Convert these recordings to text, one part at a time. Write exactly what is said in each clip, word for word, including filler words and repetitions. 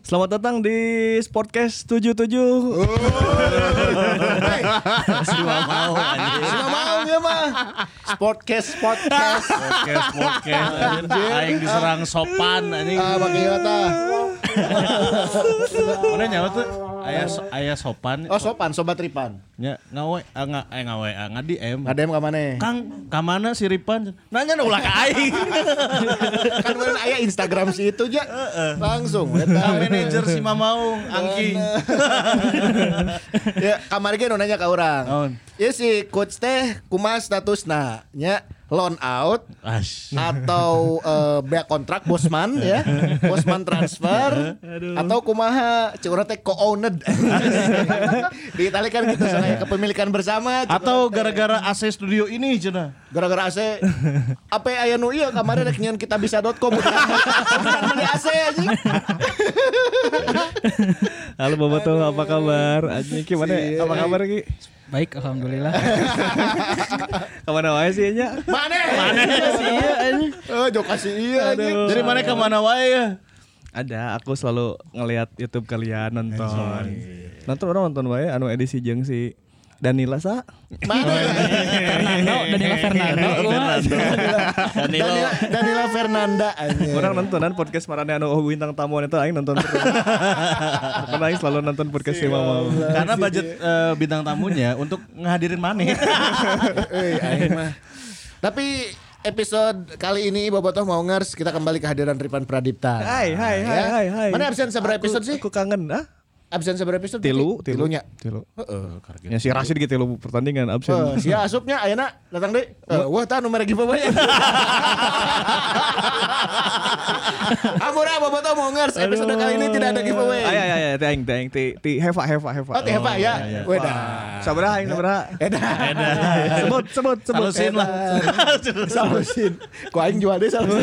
Selamat datang di Sportcast tujuh puluh tujuh. Semua mau anjing. Semua mau ya mah. Sportcast, podcast. Podcast, podcast anjing. Aing diserang sopan anjing. Ah, pakai kata. Mana nyawa tuh? Aya aya sopan. Oh, sopan, sobat Ripan. Nya ngawe ah, nga eh ngawe ah, ngadi em. Ngadem ka maneh? Kang, ka mana si Ripan? Nanya ulah ka aing. Kan meureun aya Instagram si itu aja. Langsung Ka manajer si Mamaung, Angki. Ya, kamari ge nu nanya ka urang. Naon? Ya si coach teh kumaha statusna nya loan out Ash. atau uh, bea kontrak bosman ya, bosman transfer atau kumaha cek urang teh co-owned. Di Italia kan gitu soalnya kepemilikan bersama. Atau gara-gara A C studio ini cenah. Gara-gara A C apa aya nu ieu kamari rek nyeun kitabisa dot com bukan beli A C anjing. Halo Boboto, apa kabar? Anjing gimana? Si- Apa kabar Ki? Baik, alhamdulillah. Kemana wae sih nya? Mana? Mana sih ieu anjing? Oh, jok kasih iya anjing. Dari mana ke mana wae ya? Ada, aku selalu ngelihat YouTube kalian nonton. Nonton orang nonton wae anu edisi jeung si Danila sa. Mana? Fernando, Danila Fernando. Danilo. Danila, Danila Fernanda anjing. Orang nontonan podcast marane anu oh, bintang tamu itu aing nonton terus. Karena aing selalu nonton podcast si Mama. Karena budget eh, bintang tamunya untuk ngehadirin Mane. Eh, aing mah. Tapi episode kali ini Bobotoh mau ngers kita kembali kehadiran Ripan Pradipta. Hai hai hai Ya. hai hai. Mana absen seberapa episode sih? Aku kangen ah. Absen seberapa episode? Tilu, tilu. Tilunya. Tilu. Heeh. Ya si Rashid gitu tilu pertandingan absen. Eh, si asupnya ayeuna datang deui. Eh, wah tah nomor giveaway. Amura Bobotoh mau ngers episode kali ini tidak ada giveaway. Ay ay ay teng teng ti ti Heva Heva Heva. Oh, teh Heva ya. Weda. Sabaraha aing sabaraha. Eda. Sebut sebut sebut. Salusin lah. Salusin. Ku aing jual deh salusin.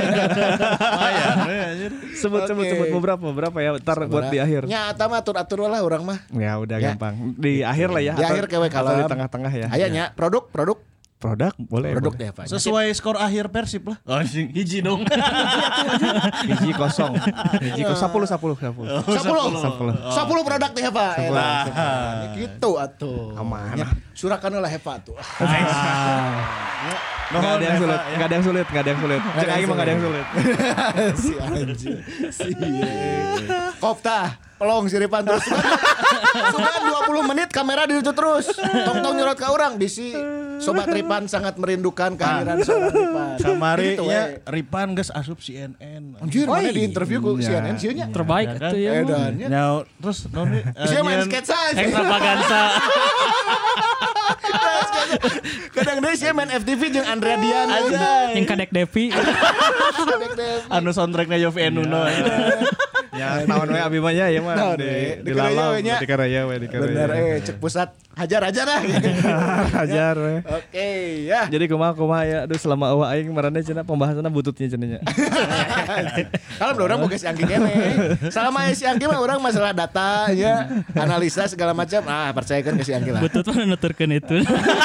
Sebut sebut Oke. sebut beberapa beberapa ya ntar buat di akhir. Nyata mah atur-atur lah orang mah. Ya udah Ya. gampang. Di akhir lah ya. Di atau- akhir kewe atau kalem. di tengah-tengah ya. Ayahnya produk produk Produk boleh. produk boleh. deh Pak. Sesuai skor akhir Persib lah. Oh, hiji dong. Hiji kosong. Hiji kosong sepuluh sepuluh sepuluh. Sepuluh Sepuluh. Sepuluh produk deh Pak. Sepuluh. Elah. Gitu atuh. Aman. Ya, surakan lah Heva tuh. Nggak ada yang sulit, nggak ada yang sulit, nggak ada yang sulit. Cek aing mah nggak ada yang sulit. Si anjing. Si. Kopta. Pelong si Ripan terus. Sudah dua puluh menit kamera ditutup terus. Tong-tong nyurot ke orang bisi. Sobat Ripan sangat merindukan kehadiran Sobat Ripan. Kamari Gitu, nya we. Ripan geus asup C N N. Anjir, mana di interview ku C N N sih nya. Terbaik Ya kan? itu ya. Bang. Edannya. Nyau terus non Isinya main sketsa aja. Extravaganza. Kadang dia sih main F T V jeung Andrea Dian Aja. Yang Kadek Devi. Anu soundtracknya Yofi Enuno. Ya, naon we abi mah nya ya mah Naon di we, di di Karaya lalam we nya. di Karaya we di Bener Karaya. eh cek pusat hajar aja lah. Hajar we. Oke ya. Jadi kumaha kumaha ya aduh selama eueuh aing marane cenah pembahasanna bututnya cenah nya. Kalau orang boga si Anggi kene. Selama si Anggi mah orang masalah data ya, analisa segala macam. Ah, percayakan ke si Anggi lah. Butut mana nuturkeun itu.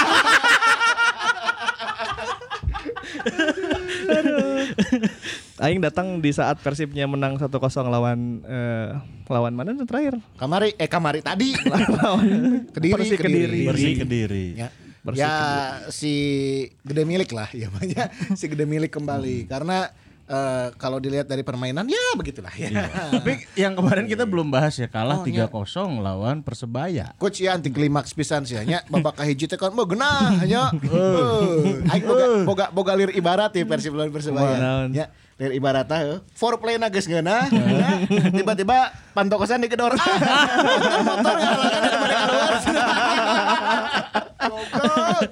Aing datang di saat Persibnya menang satu kosong lawan eh, lawan mana tuh terakhir? Kamari eh kamari tadi Lawan Kediri, Persik Kediri. Bersih Kediri. Ya. Bersih Ya si gede milik lah ya banyak si gede milik kembali karena eh, kalau dilihat dari permainan ya begitulah ya. Tapi yang kemarin kita belum bahas ya kalah Oh, tiga kosong lawan Persebaya. Coach ya anti klimaks pisan sih nya babak kahiji teh kan mau genah nya. Heuh. Aing boga boga boga lir ibarat ya Persib lawan Persebaya. Naon. Ya, lir ibarat teh foreplay na geus ngeunah. Ya. Tiba-tiba pantokosan digedor. Ah, motor ngalakan dari balik keluar. Goblok.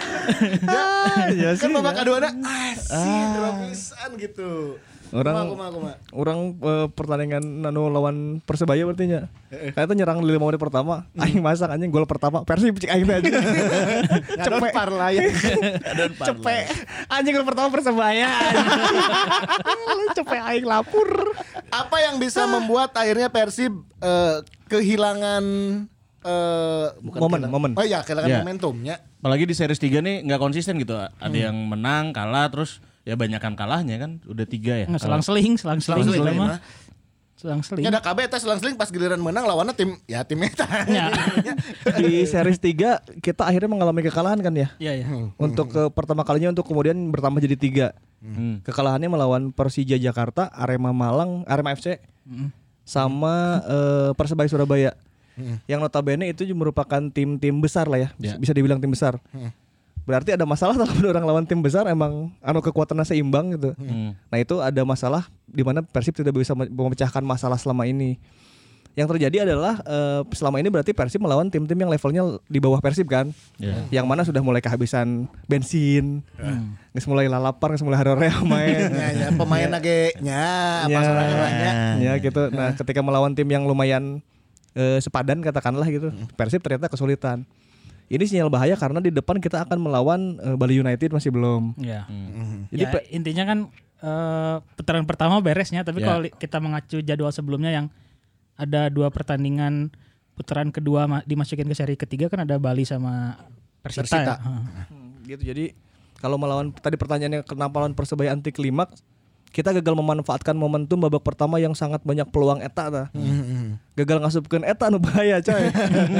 Ya Kan sih. babak kaduana asih pisan gitu. Orang Kumaha, kumaha, kumaha. orang eh, pertandingan anu lawan Persebaya berarti nya. Kayaknya nyerang di lima menit pertama, aing masak anjing gol pertama Persib cek aing teh aja. Cepet parlah ya. Cepet. Anjing gol pertama Persebaya. Cepet aing lapur. Apa yang bisa membuat akhirnya Persib eh, kehilangan eh, bukan Momen, kehilangan- momen. Oh iya, kehilangan Ya. momentumnya. Apalagi di series tiga nih nggak konsisten gitu. Ada yang menang, kalah terus ya banyakan kalahnya kan. Udah tiga ya. Nggak selang-seling, selang-seling Selang-seling gitu mah. mah. selang-seling. Nya da K B eta selang-seling pas giliran menang lawannya tim ya tim eta. Ya. Di series tiga kita akhirnya mengalami kekalahan kan ya. Iya, iya. Untuk ke pertama kalinya untuk kemudian bertambah jadi tiga. Hmm. Kekalahannya melawan Persija Jakarta, Arema Malang, Arema F C, Mm. sama eh, Persebaya Surabaya. Yang notabene itu merupakan tim-tim besar lah ya, Ya. bisa dibilang tim besar. Berarti ada masalah kalau orang lawan tim besar emang anu kekuatannya seimbang gitu. Hmm. Nah itu ada masalah di mana Persib tidak bisa memecahkan masalah selama ini. Yang terjadi adalah eh, selama ini berarti Persib melawan tim-tim yang levelnya di bawah Persib kan. Ya. Yang mana sudah mulai kehabisan bensin, geus mulai lalapan, geus mulai harorea main. Ya, ya, pemain lagi nya Ya, masalahnya banyak. ya gitu. Nah, ketika melawan tim yang lumayan eh, sepadan katakanlah gitu, Persib ternyata kesulitan. Ini sinyal bahaya karena di depan kita akan melawan eh, Bali United masih belum. Ya. Jadi Ya, pe- intinya kan eh, putaran pertama beresnya, tapi Ya. kalau li- kita mengacu jadwal sebelumnya yang ada dua pertandingan putaran kedua ma- dimasukin ke seri ketiga kan ada Bali sama Persita. Persita. Ya. Heeh. Hmm, gitu. Jadi kalau melawan tadi pertanyaannya kenapa lawan Persebaya anti klimaks, kita gagal memanfaatkan momentum babak pertama yang sangat banyak peluang eta tah. Gagal ngasupkeun eta anu bahaya coy.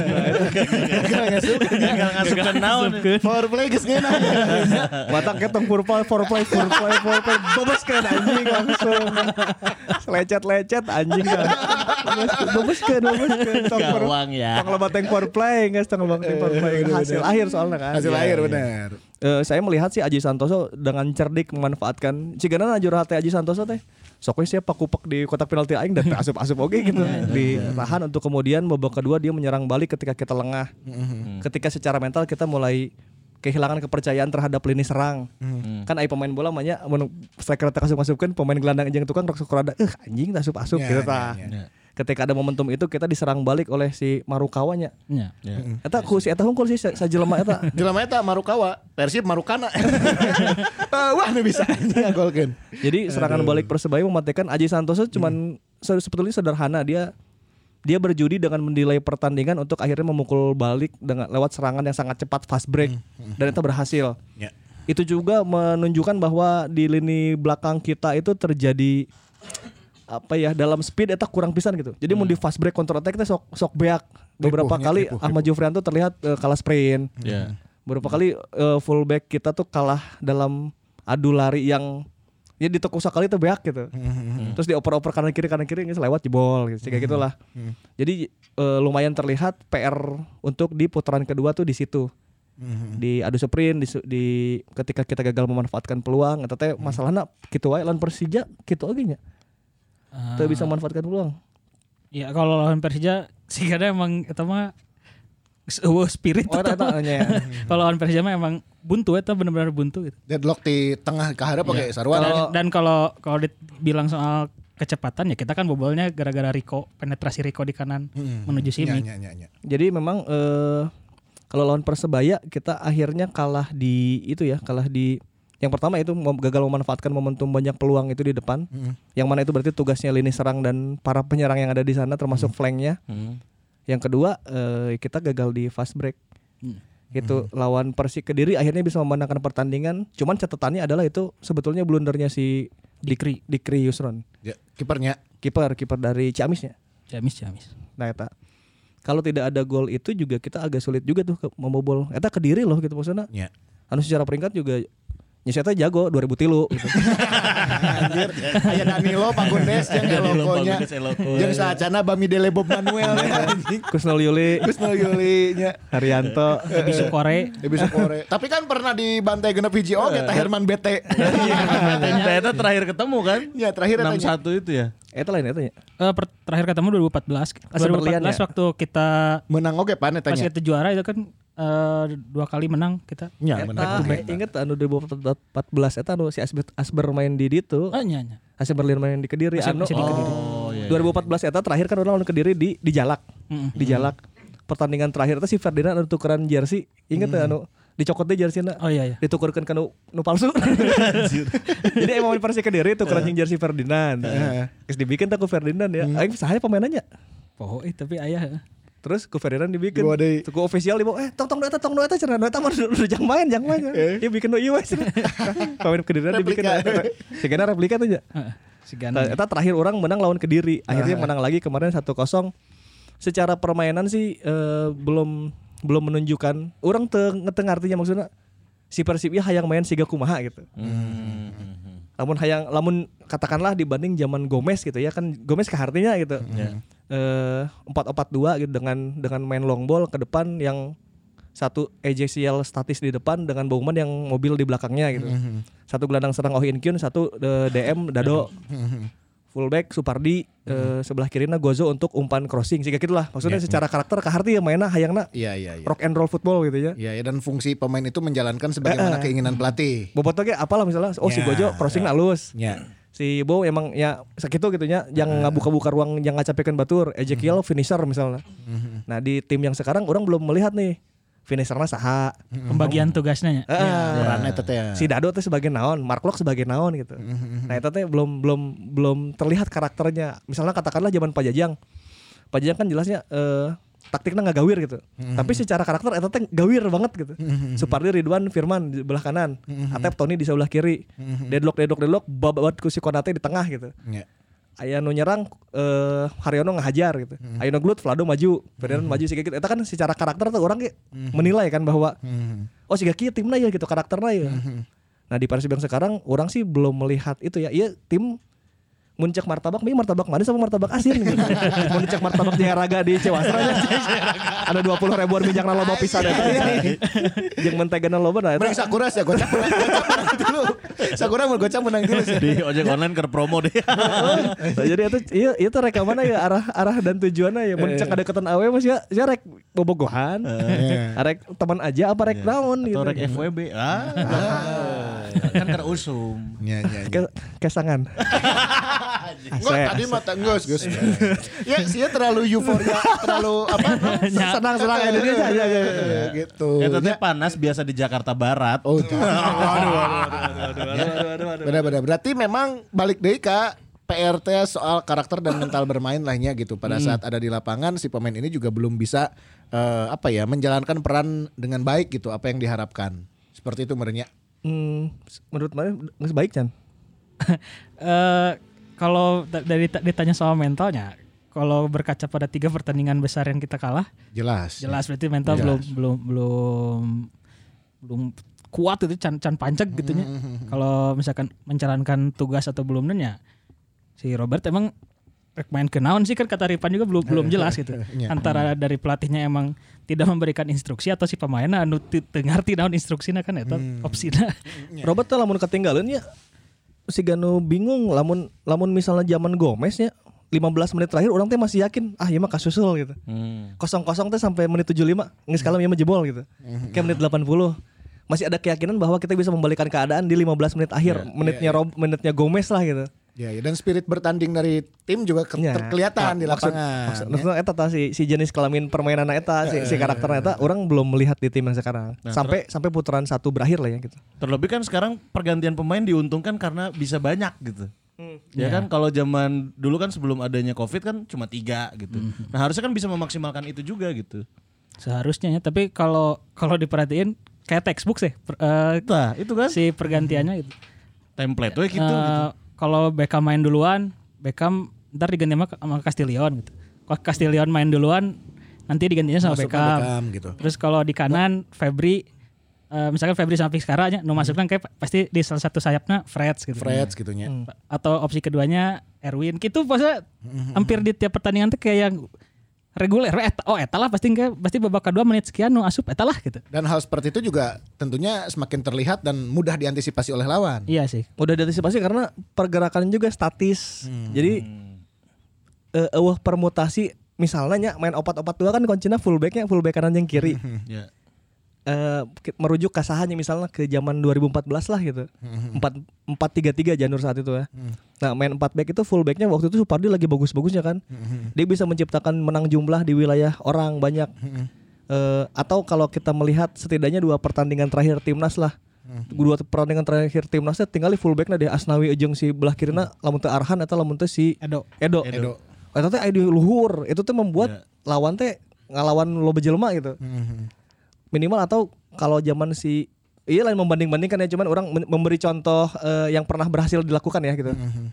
Gagal ngasupkeun. Gagal ngasupkeun naon. Power play geus ngeunah. Matak ketong purple for play for play for play bebaskeun anjing langsung. Lecet-lecet anjing kan. Bebaskeun bebaskeun tong for Gawang ya. tong loba teng for play geus tong loba teng for play hasil akhir soalnya kan. Hasil Iya, akhir iya. benar. Eh, saya melihat sih Aji Santoso dengan cerdik memanfaatkan cigana najur hati Aji Santoso teh. Sok we sia pakupek di kotak penalti aing dan asup-asup oge gitu. Ditahan untuk kemudian babak kedua dia menyerang balik ketika kita lengah. Ketika secara mental kita mulai kehilangan kepercayaan terhadap lini serang. Kan aya pemain bola manya mun striker teh asup-asupkeun pemain gelandang jeung tukang rok sukrada eh anjing tah asup-asup Ya, gitu ya, tah. ya. Ketika ada momentum itu kita diserang balik oleh si Marukawa nya. Ya. Eta ku si eta hungkul sih sa- sajelema eta. Jelema eta Marukawa, Persib Marukana. Eh, Wah, nu bisa anjing ngagolkeun. Jadi serangan balik Persebaya mematikan Aji Santoso cuman se- sebetulnya sederhana, dia dia berjudi dengan mendelay pertandingan untuk akhirnya memukul balik dengan lewat serangan yang sangat cepat fast break dan itu berhasil. Ya. Itu juga menunjukkan bahwa di lini belakang kita itu terjadi apa ya dalam speed eta kurang pisan gitu. Jadi mau di fast break counter attack kita sok sok beak. Beberapa Ripuhnya, kali ripuh, Ahmad Jufrianto terlihat eh, kalah sprint. Ya. Beberapa kali eh, fullback kita tuh kalah dalam adu lari yang ya ditekuk sekali tuh beak gitu. Terus dioper-oper kanan kiri kanan kiri nggak lewat jebol gitu. Kayak gitulah. Jadi eh, lumayan terlihat P R untuk di putaran kedua tuh di situ. Di adu sprint di, su- di ketika kita gagal memanfaatkan peluang eta teh masalahna kitu wae lawan Persija kitu oge nya. Teu bisa memanfaatkan peluang. Ya kalau lawan Persija sih kadang emang eta mah eueuh spirit. Oh eta eta nya. Kalau lawan Persija mah emang buntu eta benar-benar buntu gitu. Deadlock di tengah ke hareup Iya. oge sarua. Dan, dan kalau kalau dibilang soal kecepatan ya kita kan bobolnya gara-gara Rico, penetrasi Rico di kanan menuju Simic. Nya, nya, nya. Jadi memang eh, kalau lawan Persebaya kita akhirnya kalah di itu ya, kalah di yang pertama itu mem- gagal memanfaatkan momentum banyak peluang itu di depan. Yang mana itu berarti tugasnya lini serang dan para penyerang yang ada di sana termasuk flanknya. Hmm. Yang kedua eh, kita gagal di fast break. Hmm. Gitu lawan Persik Kediri akhirnya bisa memenangkan pertandingan. Cuman catatannya adalah itu sebetulnya blundernya si Dikri Dikri Yusron. Ya, kipernya. Kiper kiper dari Ciamisnya. Jamis Jamis. Nah eta kalau tidak ada gol itu juga kita agak sulit juga tuh ke- membobol. Eta Kediri loh gitu maksudnya. Ya. Anu secara peringkat juga nyeseta jago dua ribu tilu gitu. Anjir, aya Danilo Pagundes jeung Danilo logonya. Pagundes, eloko. Jeung saacana Bamidele Bob Manuel anjing. Kusnul Yuli, Kusnul Yuli nya. Haryanto. Lebih Sukore. Debi Sukore. Tapi kan pernah dibantai genep hiji oge teh Herman Bete. Ternyata terakhir ketemu kan? Ya terakhir enam tanya. satu itu ya. Eta lain eta nya. Eh, per- terakhir ketemu dua ribu empat belas. Asal berlian dua ribu empat belas ya? waktu kita Menang oge pan eta pas nya. kita juara itu kan eh, dua kali menang kita. Nya Eta inget anu dua ribu empat belas eta anu si Asber, Asber main di ditu. Oh iya iya. Asber Berlin main di Kediri Masih- anu. masih di Kediri. Oh iya. dua ribu empat belas eta terakhir kan orang lawan Kediri di di Jalak. Mm-mm. Di Jalak. Pertandingan terakhir itu si Ferdinand anu tukeran jersey. Ingat teh anu dicokot deh jersey-na. Oh iya iya. Ditukerkeun ka nu nu palsu. Jadi emang main Persik Kediri tukeran jeung jersey Ferdinand. Geus dibikin tah ku Ferdinand ya. Aing saha pemainannya? Oh, eh, tapi ayah. Terus ku Ferdinand dibikin. Dua deui. Ku official dibawa eh tong tong nu eta tong nu eta cenah nu eta mah udah jang main jang main. Dia bikin nu ieu we. Pemain Kediri dibikin. Replika. Sigana replika tuh ya. Heeh. Sigana. Eta terakhir orang menang lawan Kediri. Akhirnya menang lagi kemarin satu kosong. Secara permainan sih eh, belum belum menunjukkan. Orang teu ngeteng artinya maksudnya si Persib ya hayang main siga kumaha gitu. Hmm. Lamun hayang lamun katakanlah dibanding zaman Gomez gitu ya kan Gomez kehartinya gitu. Ya. Eh, empat empat dua gitu dengan dengan main long ball ke depan yang satu Ezekiel statis di depan dengan Bauman yang mobil di belakangnya gitu. Satu gelandang serang Oh In Kyun, satu uh, D M Dado. Fullback Supardi, uh, sebelah kirinya Gozo untuk umpan crossing. Sehingga gitulah. Maksudnya secara karakter kaharti ya mainnya hayangna Iya iya iya. rock and roll football gitu ya. Iya ya, dan fungsi pemain itu menjalankan sebagaimana keinginan pelatih. Bobotnya kayak apalah misalnya oh si Ya, Gojo crossing ya. halus. Ya. Si Bo emang ya segitu gitunya yang ngabuka-buka ruang yang ngacapekeun batur. Ezekiel finisher misalnya. Nah, di tim yang sekarang orang belum melihat nih finishernya saha. Pembagian tugasnya. Heeh. Perannya teh ya. Si Dado teh sebagai naon, Mark Locke sebagai naon gitu. Nah, itu teh belum belum belum terlihat karakternya. Misalnya katakanlah zaman Pak Jajang. Pak Jajang kan jelasnya eh, taktiknya nggak gawir gitu. Tapi secara karakter eta teh gawir banget gitu. Supardi, Ridwan, Firman di sebelah kanan, Atep, Tony di sebelah kiri. Deadlock deadlock deadlock babat ku si Konate di tengah gitu. Ya. Aya nu nyerang eh, Haryono ngahajar gitu. Aya nu gelut Vlado maju, Ferdinand maju siga gitu. Eta kan secara karakter tuh orang ge menilai kan bahwa oh siga kieu timna ya gitu karakterna ya. Nah, di Persib yang sekarang orang sih belum melihat itu ya. Iya tim muncak martabak, ini martabak manis sama martabak asin gitu. Muncak martabak Jayaraga di Cewasra ada dua puluh ribuan minyakna loba pisan eta ya. Jeung mentegana loba nah eta. Mending Sakura ya gocap menang, gocap menang dulu. Sakura mau gocap menang dulu sih. Di ojek online ke promo deh. Nah, jadi itu iya itu rek mana ya arah arah dan tujuannya ya muncak ada keton awe mas ya ya rek bobogohan. Rek teman aja apa rek naon gitu. Atau rek F W B. Ah. Kan karena usum. Iya iya. Ke- Kesangan. Enggak tadi mata Gus Gus. Ya sih terlalu euforia, terlalu apa? Senang-senang Indonesia aja Ya, gitu. Ya teteh panas biasa di Jakarta Barat. Oh, benar-benar. Berarti memang balik deui ka P R T soal karakter dan mental bermain lahnya gitu. Pada saat ada di lapangan si pemain ini juga belum bisa eh, apa ya menjalankan peran dengan baik gitu apa yang diharapkan. Seperti itu menurutnya. Hmm, menurut mana geus baik Chan? Eh kalau da- dari ditanya soal mentalnya, kalau berkaca pada tiga pertandingan besar yang kita kalah, Jelas. jelas berarti mental Jelas. belum belum belum belum kuat itu can can pancek gitunya. Kalau misalkan menjalankan tugas atau belum ya si Robert emang rek main ke naon sih kan kata Ripan juga belum belum jelas gitu. Iya. Antara dari pelatihnya emang tidak memberikan instruksi atau si pemainnya anu teu ngarti naon instruksina kan eta opsina. Robert tuh lamun ketinggalan ya si Gano bingung lamun lamun misalnya zaman Gomez nya lima belas menit terakhir orang teh masih yakin ah ieu mah kasusul gitu. Hmm. Kosong-kosong teh sampai menit tujuh puluh lima geus kalem ieu mah jebol gitu. Kayak menit delapan puluh masih ada keyakinan bahwa kita bisa membalikan keadaan di lima belas menit akhir, menitnya Rob, menitnya Gomez lah gitu. Ya, ya, dan spirit bertanding dari tim juga ke- Ya. terkelihatan di Maksud- lapangan. Maksud, maksudnya eta tah si, si jenis kelamin permainan eta si, si karakternya eta orang belum melihat di tim yang sekarang. Sampai sampai putaran satu berakhir lah ya gitu. Terlebih kan sekarang pergantian pemain diuntungkan karena bisa banyak gitu. Ya kan kalau zaman dulu kan sebelum adanya Covid kan cuma tiga gitu. Nah harusnya kan bisa memaksimalkan itu juga gitu. Seharusnya ya, tapi kalau kalau diperhatiin kayak textbook sih per- eh, Nah itu kan si pergantiannya gitu. template we gitu. Eh, gitu. Kalau Beckham main duluan, Beckham ntar diganti sama, sama Castillion gitu. Kalau Castillion main duluan, nanti digantinya sama Masuk ke Beckham. Beckham gitu. Terus kalau di kanan Febri, eh, misalkan Febri sama Vizcarra aja, nu masuknya kayak pasti di salah satu sayapnya Freds gitu. Freds gitunya. Atau opsi keduanya Erwin. Gitu pasti hampir di tiap pertandingan tuh kayak yang reguler. Eta, oh eta lah pasti kayak pasti babak kedua menit sekian nu asup eta lah gitu. Dan hal seperti itu juga tentunya semakin terlihat dan mudah diantisipasi oleh lawan. Iya sih. Udah diantisipasi karena pergerakan juga statis. Jadi eh eueuh permutasi misalnya main opat-opat dua kan kuncinya fullbacknya fullback kanan yang kiri. Ya. Eh, merujuk kasahannya misalnya ke zaman dua ribu empat belas lah gitu. empat tiga tiga Janur saat itu ya. Nah, main empat back itu fullbacknya waktu itu Supardi lagi bagus-bagusnya kan. Dia bisa menciptakan menang jumlah di wilayah orang banyak. Eh, atau kalau kita melihat setidaknya dua pertandingan terakhir timnas lah. Dua pertandingan terakhir timnasnya tinggal di fullbacknya deh Asnawi jeung si belah kirina lamun teu Arhan atau lamun teu si Edo. Edo. Edo. Eta teh aya di luhur. Itu tuh membuat lawan teh ngalawan loba jelema gitu. Minimal atau kalau zaman si iya lain membanding-bandingkan ya cuman orang men- memberi contoh eh, yang pernah berhasil dilakukan ya gitu.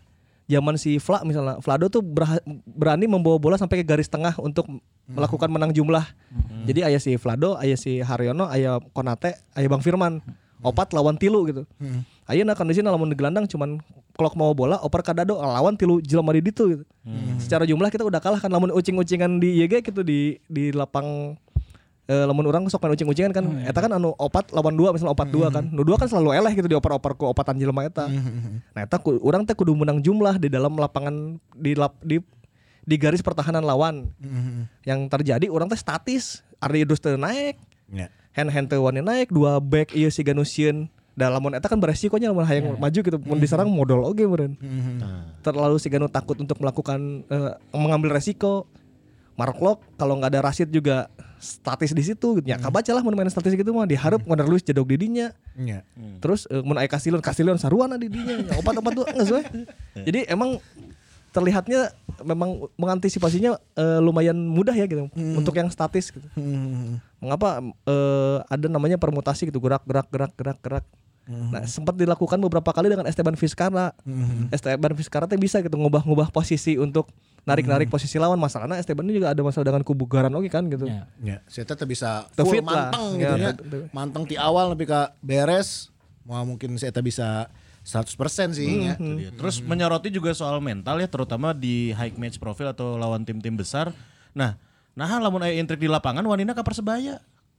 zaman si Vla misalnya, Vlado tuh berha- berani membawa bola sampai ke garis tengah untuk melakukan menang jumlah. Hmm. Jadi aya si Vlado, aya si Haryono, aya Konate, aya Bang Firman. Opat lawan tilu gitu. Hmm. Ayeuna kondisina lamun digelandang cuman kalau mau bola oper ka Dado lawan tilu jelema di ditu gitu. Hmm. Secara jumlah kita udah kalah kan lamun ucing-ucingan di I G gitu di di lapang eh, lamun orang sok main ucing-ucingan kan hmm. eta kan anu opat lawan dua misalnya opat hmm. dua kan. Nu dua kan selalu eleh gitu dioper-oper ku opatan jelema eta. Hmm. Nah eta ku, urang teh kudu menang jumlah di dalam lapangan di lap, di di garis pertahanan lawan. Hmm. Yang terjadi orang teh statis, Ardi Idrus teu naik. Yeah. Hand-hand teu wani naik, dua back ieu si Ganusieun. Da lamun eta kan beresikonya lamun hayang yeah. maju gitu, mun diserang modal oge meureun. Mm-hmm. Terlalu si Ganu takut untuk melakukan uh, mengambil resiko. Mark Lok kalau enggak ada Rashid juga statis di situ gitu. Ya kabacalah mun main statis gitu mah dihareup mm-hmm. Wonder Luis jadog di dinya. Yeah. Mm. Terus uh, mun aya Castillion, Castillion saruana di dinya. Ya opat-opat tuh geus we. Jadi emang terlihatnya memang mengantisipasinya uh, lumayan mudah ya gitu hmm. untuk yang statis gitu. Hmm. Mengapa uh, ada namanya permutasi gitu gerak gerak gerak gerak gerak. Hmm. Nah sempat dilakukan beberapa kali dengan Esteban Vizcarra. Hmm. Esteban Vizcarra tuh bisa gitu ngubah-ngubah posisi untuk narik-narik hmm. posisi lawan. Masalahnya Esteban ini juga ada masalah dengan kubugaran oke kan gitu. Ya. Ya. Saya tetap bisa full manteng gitu ya. Manteng di awal lebih ke beres. Wah mungkin saya bisa seratus persen sih hmm, ya. Hmm. Terus hmm. menyoroti juga soal mental ya terutama di high match profile atau lawan tim-tim besar. Nah, nah lamun aya intrik di lapangan wanina ka Persebaya.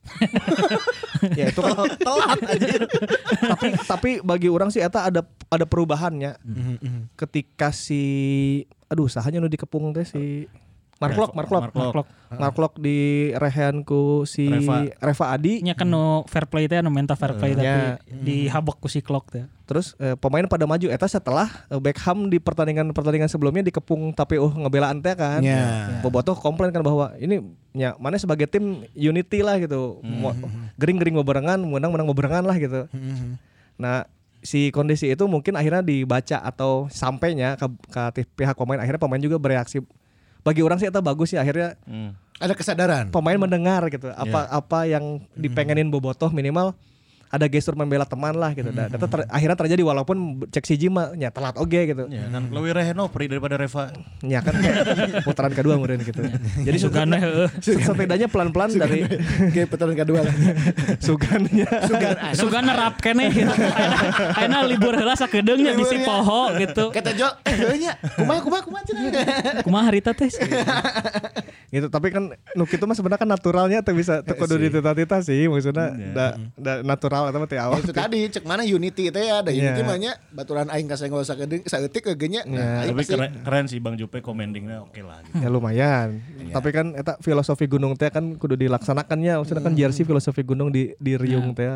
Ya itu kan telat aja. tapi tapi bagi orang sih eta ada ada perubahannya. Mm-hmm. Ketika si aduh sahanya nu dikepung teh si Marklok, Marklok, Marklok, Marklok di rehan ku si Reva, Reva Adi. Nya kan no fair play teh, no mental fair play uh, tapi ya. Dihabok ku si Klok teh. Terus eh, pemain pada maju. Eta setelah eh, Beckham di pertandingan pertandingan sebelumnya dikepung tapi uh ngebelaan teh kan. Yeah. Bobotoh komplain kan bahwa ini nya mana sebagai tim unity lah gitu. Mm-hmm. Gering-gering bebarengan, menang-menang bebarengan lah gitu. Mm-hmm. Nah si kondisi itu mungkin akhirnya dibaca atau sampainya ke, ke pihak pemain, akhirnya pemain juga bereaksi. Bagi orang sih itu bagus sih akhirnya hmm. ada kesadaran pemain mendengar gitu apa yeah. apa yang dipengenin Bobotoh minimal ada gestur membela teman lah gitu. Dan hmm. ter, akhirnya terjadi walaupun cek si Jima nya telat oge gitu. Ya kan lebih reheno pri daripada Reva. Ya kan putaran kedua meureun gitu. Jadi Sugana heeh. Setidaknya pelan-pelan dari kayak putaran kedua lah. Sugannya. Sugan Sugana rap keneh. Ayeuna libur heula sakedeung nya bisi poho gitu. Kata Jo, heuh nya. Kumaha kumaha kumaha cenah. Kumaha harita teh. Gitu tapi kan nu kitu mah sebenarnya kan naturalnya teu bisa teu kudu ditita-tita sih maksudnya da, da natural atau teh awal. Itu tadi cek mana unity teh ya ada unity mah nya baturan aing ka saenggo sakedeung saeutik ke nya. Nah, tapi keren, keren sih Bang Jupe commentingnya oke lah gitu. Ya lumayan. Ya. Tapi kan eta filosofi gunung teh kan kudu dilaksanakannya maksudnya kan jersey filosofi gunung di di riung teh.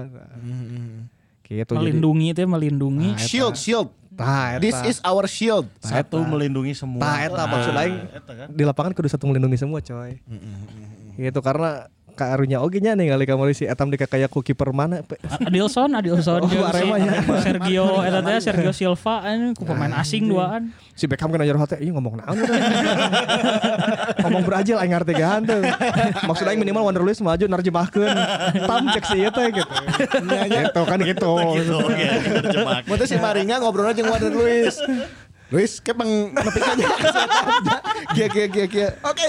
Gitu melindungi teh melindungi. Nah, shield shield. Nah, this is our shield. Satu melindungi semua. Nah, eta maksud aing kan? Di lapangan kudu satu melindungi semua, coy. Mm-hmm. Gitu karena karunya oge nya ningali kamari si etam dikakayak ku kiper mana? Adilson, Adilson oh, Arema ya. Sergio eta teh Sergio Silva anu ku pemain asing duaan. Si Beckham kan ajar hotel, ieu ngomong naon teh. Ngomong berajil aing ngartegahan teh. Maksud aing minimal Wonder Luis maju narjemahkeun. Tam cek si ieu teh gitu. Gitu kan gitu. Gitu oke, terjemahkeun. Mun teh si Maringa ngobrolna jeung Wonder Luis. Luis kepeng nepikannya kia kia kia kia oke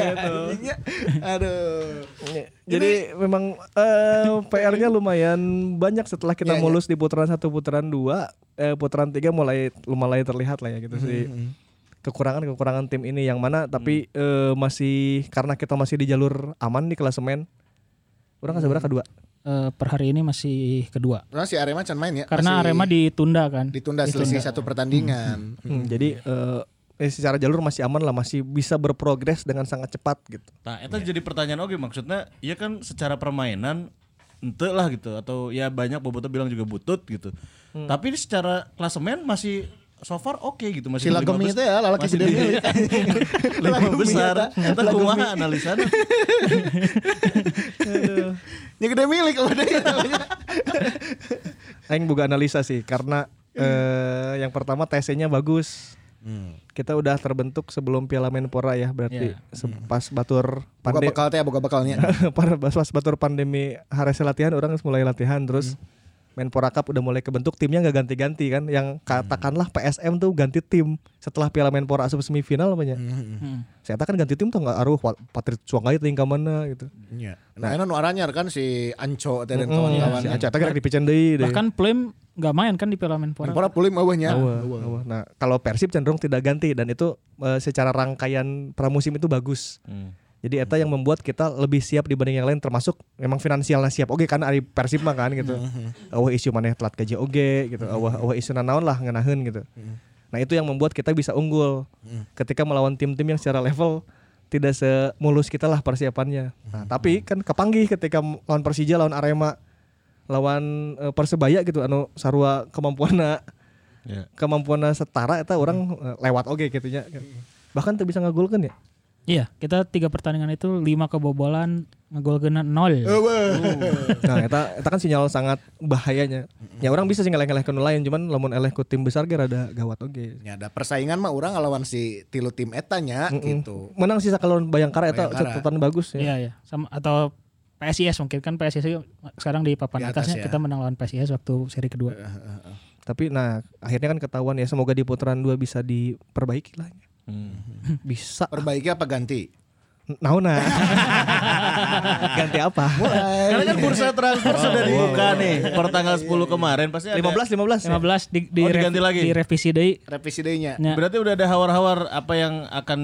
aduh jadi memang uh, P R-nya lumayan banyak setelah kita yeah, mulus yeah. di putaran satu putaran dua eh, putaran tiga mulai mulai terlihat lah ya gitu mm-hmm. sih kekurangan-kekurangan tim ini yang mana tapi mm. uh, masih karena kita masih di jalur aman di klasemen orang kan sebenarnya kedua. Uh, per hari ini masih kedua. Nah, si Arema can main ya. Karena masih Arema ditunda kan. Ditunda, ditunda. Selisih satu pertandingan. Hmm. Hmm. Jadi uh, eh, secara jalur masih aman lah, masih bisa berprogres dengan sangat cepat gitu. Nah, itu ya. Jadi pertanyaan oke maksudnya, ya kan secara permainan ente lah gitu atau ya banyak Bobotoh bilang juga butut gitu. Hmm. Tapi secara klasemen masih so far oke okay, gitu masih si Lagemi itu ya lalaki gede milik lima besar eta kumaha analisana nya gede milik udah aing boga analisa sih karena eh, yang pertama T C-nya bagus. Hmm. Kita udah terbentuk sebelum Piala Menpora ya berarti yeah. pas batur pandemi boga bekal teh boga bekalnya pas batur pandemi harese latihan orang mulai latihan terus hmm. Menpora Cup udah mulai kebentuk, timnya nggak ganti-ganti kan. Yang katakanlah P S M tuh ganti tim setelah Piala Menpora asup semifinal namanya. Hmm. Saya kan ganti tim tuh nggak aruh Patrit Suangai tinggal mana gitu. Iya. Nah, ini nu aranyar kan si Anco teh dan Mm, kawan-kawan. si Aca teh gerak dipicen deui deh. Bahkan Pulim nggak main kan di Piala Menpora. Menpora pulim eueuhnya. Awal, awal. Nah, kalau Persib cenderung tidak ganti dan itu eh, secara rangkaian pramusim itu bagus. Hmm. Jadi eta yang membuat kita lebih siap dibanding yang lain, termasuk memang finansialnya siap. Oke kan ari Persib mah kan gitu. Eueuh isu maneh telat gaji oge gitu. Eueuh eueuh isu nanaon lah ngeunaheun gitu. Nah, itu yang membuat kita bisa unggul ketika melawan tim-tim yang secara level tidak semulus kita lah persiapannya. Nah, tapi kan kepanggih ketika lawan Persija, lawan Arema, lawan eh, Persebaya gitu anu sarua kemampuanna Ya. kemampuanna setara eta orang eh, lewat oge gitu nya. Bahkan tuh bisa ngagolkeun ya. Iya, kita tiga pertandingan itu lima kebobolan, ngegolkeun nol. Nah, eta eta kan sinyal sangat bahayanya. Ya orang bisa sih ngeleh-ngelehkeun nu lain, cuman lamun eleh ku tim besar ge rada gawat oge. Ya ada persaingan mah orang ngelawan si tilu tim eta nya gitu. Menang sih sakalawan Bayangkara eta Bayangkara. catatan bagus ya. Iya, iya. Sama atau P S I S mungkin kan P S I S sekarang di papan Di atas atasnya ya. kita menang lawan P S I S waktu seri kedua. Tapi nah akhirnya kan ketahuan ya, semoga di putaran dua bisa diperbaiki lah. Hmm. Bisa. Perbaiki apa ganti? Naona. Ganti apa? Karena kan bursa transfer sudah dibuka nih per tanggal sepuluh kemarin pasti ada. lima belas lima belas. lima belas di, di Oh, diganti revi- lagi? direvisi deui. Revisi deui-nya. Ya. Berarti udah ada hawar-hawar apa yang akan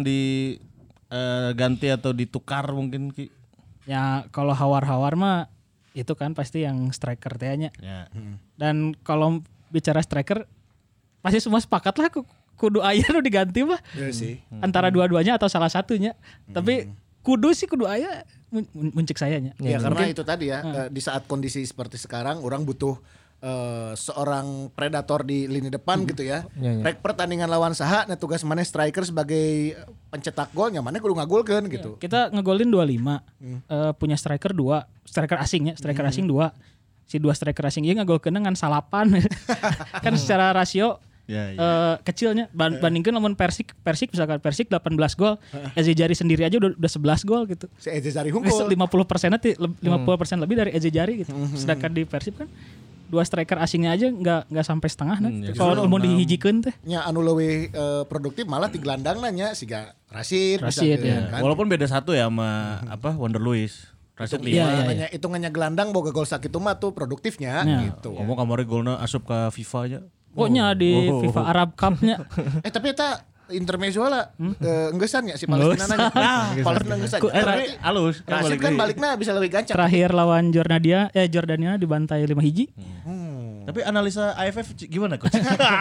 diganti atau ditukar mungkin Ki? Ya kalau hawar-hawar mah itu kan pasti yang striker teh-nya. Ya. Dan kalau bicara striker pasti semua sepakat lah ku- kudu aya nu diganti mah. Iya sih. Antara dua-duanya atau salah satunya. Tapi kudu sih kudu aya mun- mun- muncik sayanya. Ya, karena itu tadi ya eh, di saat kondisi seperti sekarang orang butuh eh, seorang predator di lini depan gitu ya. Ya, ya. Rek pertandingan lawan saha nah tugas mana striker sebagai pencetak gol nya mana kudu ngagolkeun gitu. Kita ngegolin dua puluh lima. Eh, punya striker dua, striker asingnya, striker asing dua. Si dua striker asing ieu ngagolkeun ngan salapan. Kan secara rasio Ya, ya. eh, kecilnya ban- bandingkan lamun Persik, Persik misalkan Persik delapan belas gol, Eze Jari sendiri aja udah, udah sebelas gol gitu. Si Eze Zari Hungkul. lima puluh persen lima puluh persen lebih dari Eze Jari gitu. Sedangkan di Persib kan dua striker asingnya aja nggak nggak sampai setengah nah. Hmm, ya, Kalau mau dihijikeun teh. Nya anu leuwih eh, produktif malah di gelandang nanya siga Rashid, Rashid, misalkan, ya. kan. Walaupun beda satu ya sama apa Wonder Luis. Rashid Iya, lima. iya. Nanya hitungannya gelandang boga gol sakitu mah tuh produktifnya Ya. gitu. Ngomong kamari golna asup ke FIFA aja. Pokoknya di Oh. FIFA Arab Cup-nya Eh tapi eta intermezzo lah eh, enggesan ya si Palestina nanya. Palestina enggesan. Eh, Eh, tapi tapi halus Rashid kan baliknya bisa lebih gancang. terakhir lawan Jordania eh Jordania dibantai lima hiji. Tapi analisa A F F gimana coach?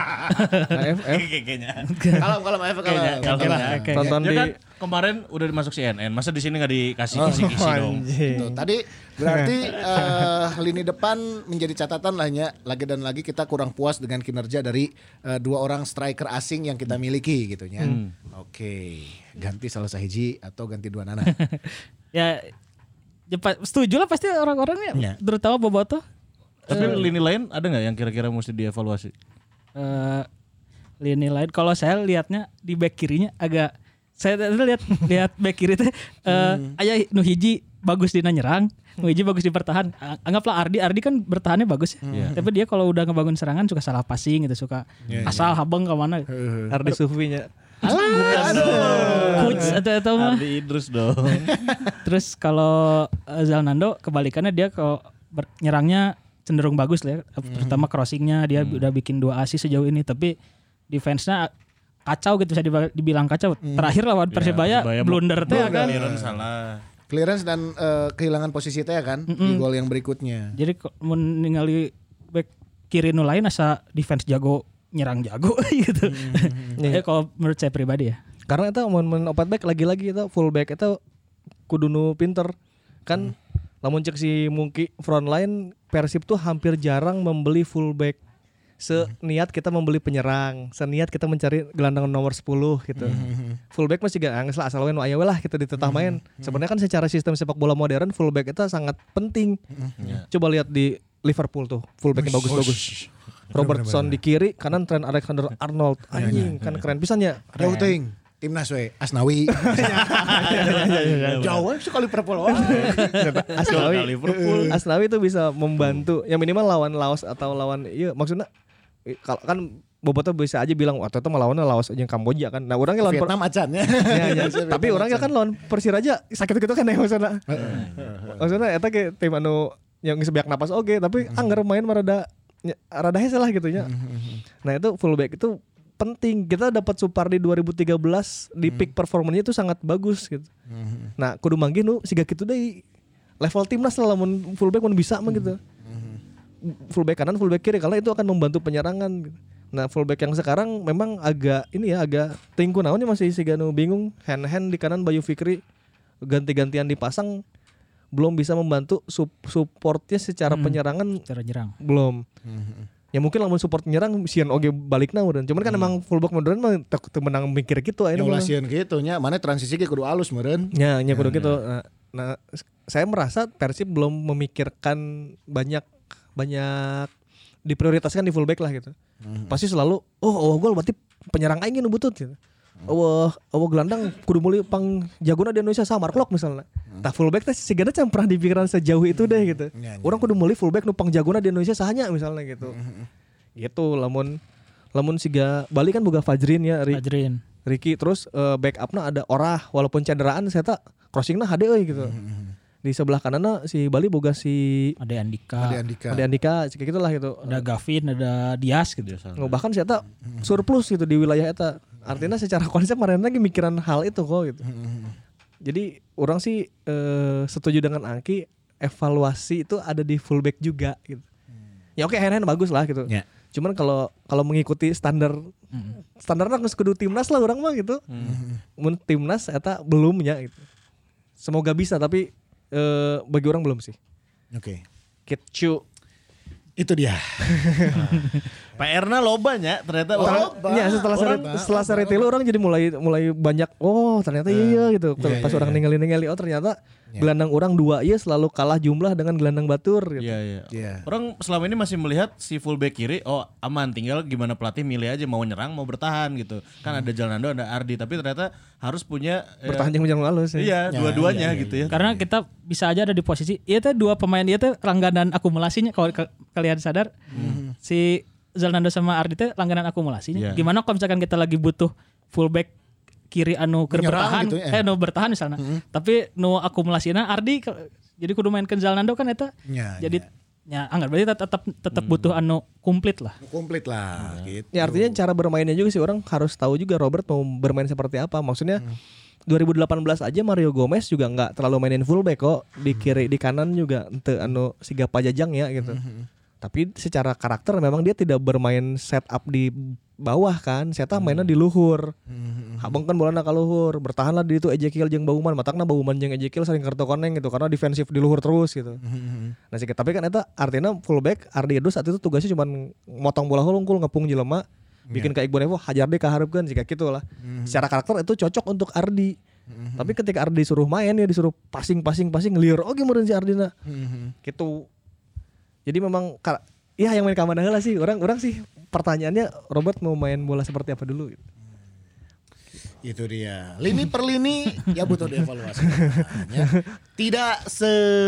A F F Kayaknya. Kalau kalau F kalau Kayaknya, kalau- oke lah, kalau- oke. tonton Ya di kan kemarin udah dimasuk C N N, masa di sini nggak dikasih kisi-kisi dong? anjing. Tuh, tadi berarti eh, lini depan menjadi catatan lah ya. Lagi dan lagi kita kurang puas dengan kinerja dari eh, dua orang striker asing yang kita miliki gitu ya. Oke, ganti salah sahiji atau ganti dua nana. Ya, ya pa- setuju lah pasti orang-orangnya Ya. terutama Bobotoh. Tapi lini lain ada nggak yang kira-kira mesti dievaluasi? Eh lini lain kalau saya lihatnya di back kirinya agak saya tadi lihat lihat back kiri teh eh aya nu hiji bagus dina nyerang, nu hiji bagus di bertahan. A- Anggaplah Ardi, Ardi kan bertahannya bagus ya. Tapi dia kalau udah ngebangun serangan suka salah passing gitu, suka asal habeng ke mana. Ardi Sufinya. Coach atau atau mah. Ardi Idrus dong. Terus kalau eh, Zalnando kebalikannya dia kalau ber- nyerangnya cenderung bagus lah ya. Terutama crossingnya dia udah bikin dua assist sejauh ini. Tapi defense-nya kacau gitu, bisa diba- dibilang kacau. Terakhir lawan Persebaya Persebaya blunder teh ya kan. Clearance salah. Clearance dan eh, kehilangan posisi teh kan di gol yang berikutnya. Jadi kok mun ningali back kiri nu lain asa defense jago, nyerang jago gitu. Ya kalau menurut saya pribadi ya. Karena itu mun opat back lagi-lagi itu full back itu kudu nu pinter. Kan lamun cek si Mungki front line Persib tuh hampir jarang membeli full back. Seniat kita membeli penyerang, seniat kita mencari gelandang nomor sepuluh gitu. Fullback masih gak angges lah, asal we nu aya we lah kita ditetah main. Sebenarnya kan secara sistem sepak bola modern fullback itu sangat penting. Coba lihat di Liverpool tuh, fullbacknya bagus-bagus. Robertson di kiri, kanan Trent Alexander-Arnold. Anjing, kan keren pisan ya. Jauh teuing. timnas we Asnawi. Jauh sekali Liverpool. Asnawi, Liverpool. Asnawi itu bisa membantu. Ya minimal lawan Laos atau lawan iya maksudnya eh, kalau kan Boboto bisa aja bilang waktu itu melawannya Laos aja Kamboja kan. Nah orangnya lawan Vietnam acan ya. ya, ya. Tapi orangnya kan lawan Persiraja sakit gitu kan ya maksudnya. Maksudnya eta ke tim anu yang geus beak napas oge tapi anggar main mah rada rada hese lah gitu nya. Nah itu fullback itu penting. Kita dapat Supardi dua ribu tiga belas di peak performanya itu sangat bagus gitu. Nah kudu manggih nu siga kitu deui. Level timnas lah lamun fullback mun bisa mah gitu. Fullback kanan, fullback kiri karena itu akan membantu penyerangan gitu. Nah fullback yang sekarang memang agak ini ya agak tingku naonnya masih siga nu bingung. Hand hand di kanan Bayu Fikri ganti-gantian dipasang belum bisa membantu supportnya secara hmm, penyerangan secara nyerang belum. Hmm. Ya mungkin lamun support nyerang sieun oge balikna meureun. Cuman kan hmm. emang fullback modern mah teu menang mikir kitu aya mah. Sieun kitu nya, mana transisi ge kudu alus meureun. Ya, nya kudu kitu. Nah, nah, saya merasa Persib belum memikirkan banyak banyak diprioritaskan di fullback lah gitu. Hmm. Pasti selalu oh oh gol berarti penyerang aing nu butut gitu. Oh, oh gelandang kudu meuli pang jagona di Indonesia sama Mark misalnya. Hmm. Tah fullback teh sigana can pernah dipikiran sejauh itu deh gitu. Ya, ya. Orang kudu meuli fullback nu pang jagona di Indonesia sahanya misalnya gitu. Hmm. Gitu lamun lamun siga Bali kan boga Fajrin ya, Ri, Fajrin. Ricky terus uh, backupna ada Orah walaupun cederaan saya tak crossingna hade euy gitu. Hmm. Di sebelah kananna si Bali boga si Ade Andika. Ade Andika. Ade Andika kayak gitulah gitu. Ada Gavin, ada Dias gitu. Oh, bahkan saya tak surplus gitu di wilayah eta. Artinya secara konsep kemarin lagi mikiran hal itu kok gitu. Jadi orang sih eh, setuju dengan Angki, evaluasi itu ada di fullback juga gitu. Ya oke, hand-hand bagus lah gitu. Yeah. Cuman kalau kalau mengikuti standar mm. standarnya geus kudu timnas lah orang mah gitu. Mm. Mun timnas eta belumnya gitu. Semoga bisa tapi eh, bagi orang belum sih. Oke. Okay. Kitchu itu dia. P R-na lobanya ternyata orang. Iya setelah seri, setelah seri tilu orang jadi mulai mulai banyak oh ternyata uh, iya gitu. Yeah, Pas yeah, orang yeah. ningali-ningali oh ternyata yeah. gelandang orang dua iya selalu kalah jumlah dengan gelandang batur gitu. Iya yeah, iya. Yeah. Yeah. Orang selama ini masih melihat si fullback kiri oh aman tinggal gimana pelatih milih aja mau nyerang mau bertahan gitu. Kan hmm. ada Jalnando ada Ardi tapi ternyata harus punya bertahan yang menjang halus ya. Iya, ya, dua-duanya ya, ya, gitu ya. Karena kita bisa aja ada di posisi iya teh dua pemain dia teh langganan akumulasinya kalau kalian sadar. Hmm. Si Zalnando sama Ardi teh langganan akumulasinya. Yeah. Gimana kalau misalkan kita lagi butuh fullback kiri anu keur bertahan, gitu, ya. eh nu bertahan misalnya. Mm-hmm. Tapi nu akumulasinya Ardi jadi kudu mainkeun Zalnando kan eta. Yeah, jadi yeah. ya anggar berarti tetap tetap mm. butuh anu komplit lah. Komplit lah mm. gitu. Ya artinya cara bermainnya juga sih orang harus tahu juga Robert mau bermain seperti apa. Maksudnya mm. dua ribu delapan belas aja Mario Gomez juga enggak terlalu mainin fullback kok. Di kiri di kanan juga ente anu siga pajajang ya gitu. Mm-hmm. Tapi secara karakter memang dia tidak bermain setup di bawah kan, saya hmm. mainnya di luhur. Hmm. Habang kan bolana ka luhur, bertahanlah di itu Ezekiel jeung Bauman, matakna Bauman jeung Ezekiel sering kartu koneng gitu karena defensif di luhur terus gitu. Hmm. Nah sih tapi kan eta artinya fullback Ardi Edo saat itu tugasnya cuma motong bola hungkul ngepung jelema, bikin yeah. ka Iqbal Evo hajar deh kaharepkeun sih kayak gitulah. Hmm. Secara karakter itu cocok untuk Ardi. Hmm. Tapi ketika Ardi disuruh main ya disuruh passing-passing-passing liar oge meureun si Ardina. Hmm. Gitu. Jadi memang ya yang main kamana heula sih orang-orang sih pertanyaannya Robert mau main bola seperti apa dulu gitu. Itu dia. Lini per lini ya butuh dievaluasi. Tidak se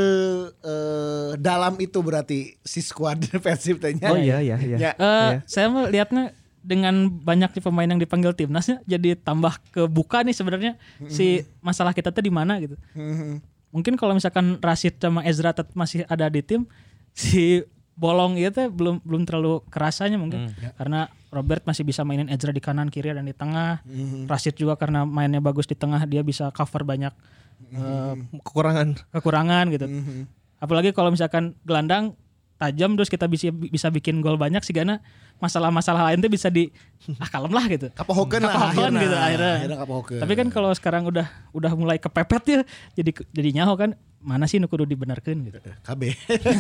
uh, dalam itu berarti si squad Persib tanya. Oh iya iya iya. Ya. Uh, iya. Saya melihatnya dengan banyaknya pemain yang dipanggil timnasnya jadi tambah kebuka nih sebenarnya mm-hmm. si masalah kita tuh di mana gitu. Mm-hmm. Mungkin kalau misalkan Rashid sama Ezra tetap masih ada di tim si bolong itu belum belum terlalu kerasanya mungkin hmm. karena Robert masih bisa mainin Ezra di kanan kiri dan di tengah. Hmm. Rashid juga karena mainnya bagus di tengah dia bisa cover banyak hmm. uh, kekurangan kekurangan gitu. Hmm. Apalagi kalau misalkan gelandang tajam terus kita bisa bisa bikin gol banyak sih karena masalah-masalah lain tuh bisa di ah kalem lah gitu. Kapohokeun lah akhirnya, gitu akhirnya. akhirnya Tapi kan kalau sekarang udah udah mulai kepepet ya jadi jadi nyaho kan mana sih nu kudu dibenarkeun gitu. K B.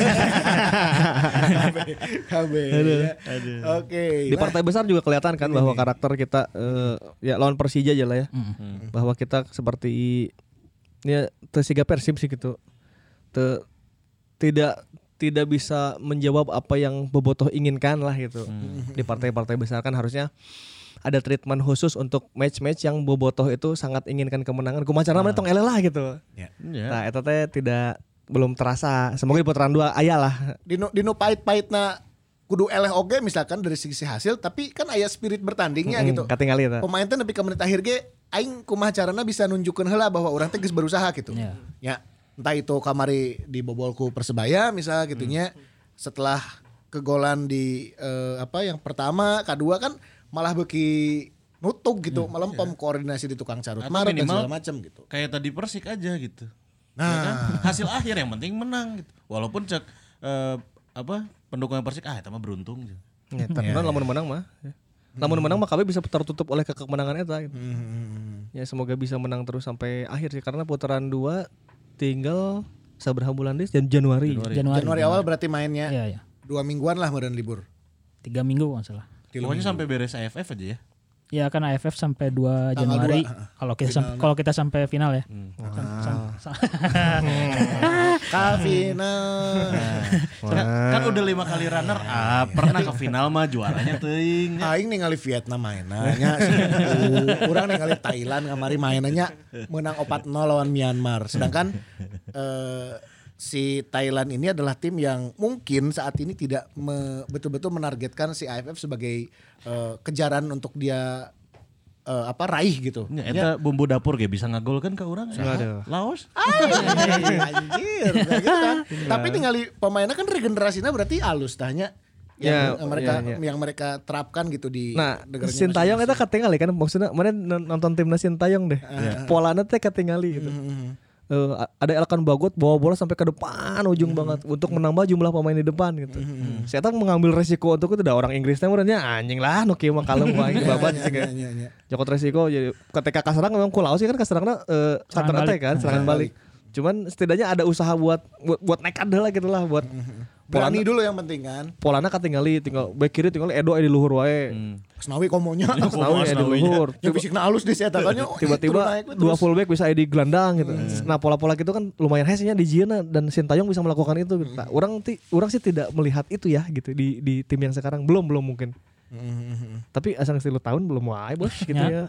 K B. Oke. Di partai besar juga kelihatan kan bahwa karakter kita uh, ya lawan Persija aja lah ya. Mm-hmm. Bahwa kita seperti ya tersiga Persib sih gitu. Te, tidak tidak bisa menjawab apa yang Bobotoh inginkan lah gitu. Mm-hmm. Di partai-partai besar kan harusnya ada treatment khusus untuk match-match yang bobotoh itu sangat inginkan kemenangan. Kumaha carana tong eleh lah gitu. Ya. Nah, eta teh tidak belum terasa. Semoga di putaran dua aya lah. Dino dino pahit-pahitna kudu eleh oge misalkan dari sisi hasil, tapi kan aya spirit bertandingnya Mm-mm, gitu. katingali eta. Pemain teh nepi ka menit akhir ge aing kumaha carana bisa nunjukkeun heula bahwa urang teh geus berusaha gitu. Ya. Ya, entah itu kamari dibobol ku Persebaya misal gitu nya. Setelah kegolan di eh, apa yang pertama, kedua kan malah beki nutup gitu, melempem koordinasi di tukang carut Atau marut dan minimal segala macam gitu. Kayak tadi Persik aja gitu. Nah, Ya kan? Hasil akhir yang penting menang gitu. Walaupun cek eh, apa pendukung Persik ah eta mah beruntung gitu. Ya, terkenal lamun menang mah. Ya. Lamun menang mah K B bisa tertutup oleh ke- kemenangan eta gitu. Ya semoga bisa menang terus sampai akhir sih karena putaran dua tinggal sabaraha bulan deh dan Januari. Januari. Januari awal berarti mainnya Iya, iya. dua mingguan lah meureun libur. Tiga minggu kalau nggak salah. Pokoknya sampai beres A F F aja ya. Ya kan A F F sampai dua Tanggal Januari. dua, Kalau kita sampai kalau kita sampai final ya. Sam- sam- sam- Ka final. Kan, kan udah lima kali runner up, pernah ke final mah juaranya teuing. Aing ningali Vietnam mainannya, urang ningali Thailand kamari mainannya menang empat nol lawan Myanmar. Sedangkan eh, si Thailand ini adalah tim yang mungkin saat ini tidak me- betul-betul menargetkan si A F F sebagai eh, kejaran untuk dia eh, apa raih gitu. Ya, eta bumbu dapur ge bisa ngagol kan ke urang. Aduh. Laos. Anjir, kayak gitu kan. Tapi ningali pemainnya kan regenerasinya berarti halus tanya. Ya, Yang mereka ya, ya. yang mereka terapkan gitu di Nah, negaranya Sintayong masing-masing. eta katingali kan maksudnya mana nonton timnas Sintayong deh. Polana teh katingali gitu. Eh, ada Elkan Bagot bawa bola sampai ke depan ujung banget untuk menambah jumlah pemain di depan gitu. Saya tahu mengambil resiko untuk itu. Ada orang Inggrisnya murahnya anjing lah, nu kieu mah kalem wae babat Iya, sih iya, kayak. iya, iya. Jokot resiko jadi ketika kaserang memang kulau sih kan kaserangna eh, counter Serangan attack kan, serangan balik. Cuman setidaknya ada usaha buat buat, buat nekat lah gitu lah buat Berani dulu yang penting kan. Polana katingali tinggal back kiri tinggal Edo di luhur wae. Asnawi komonya. Asnawi di luhur. Yang bisikna halus di setakannya. Tiba-tiba dua fullback bisa di gelandang gitu. Nah pola-pola gitu kan lumayan hesnya di Jieuna dan Sintayong bisa melakukan itu. Gitu. Nah, orang ti, orang sih tidak melihat itu ya gitu di di tim yang sekarang belum belum mungkin. Tapi asal sepuluh tahun belum wae bos gitu ya.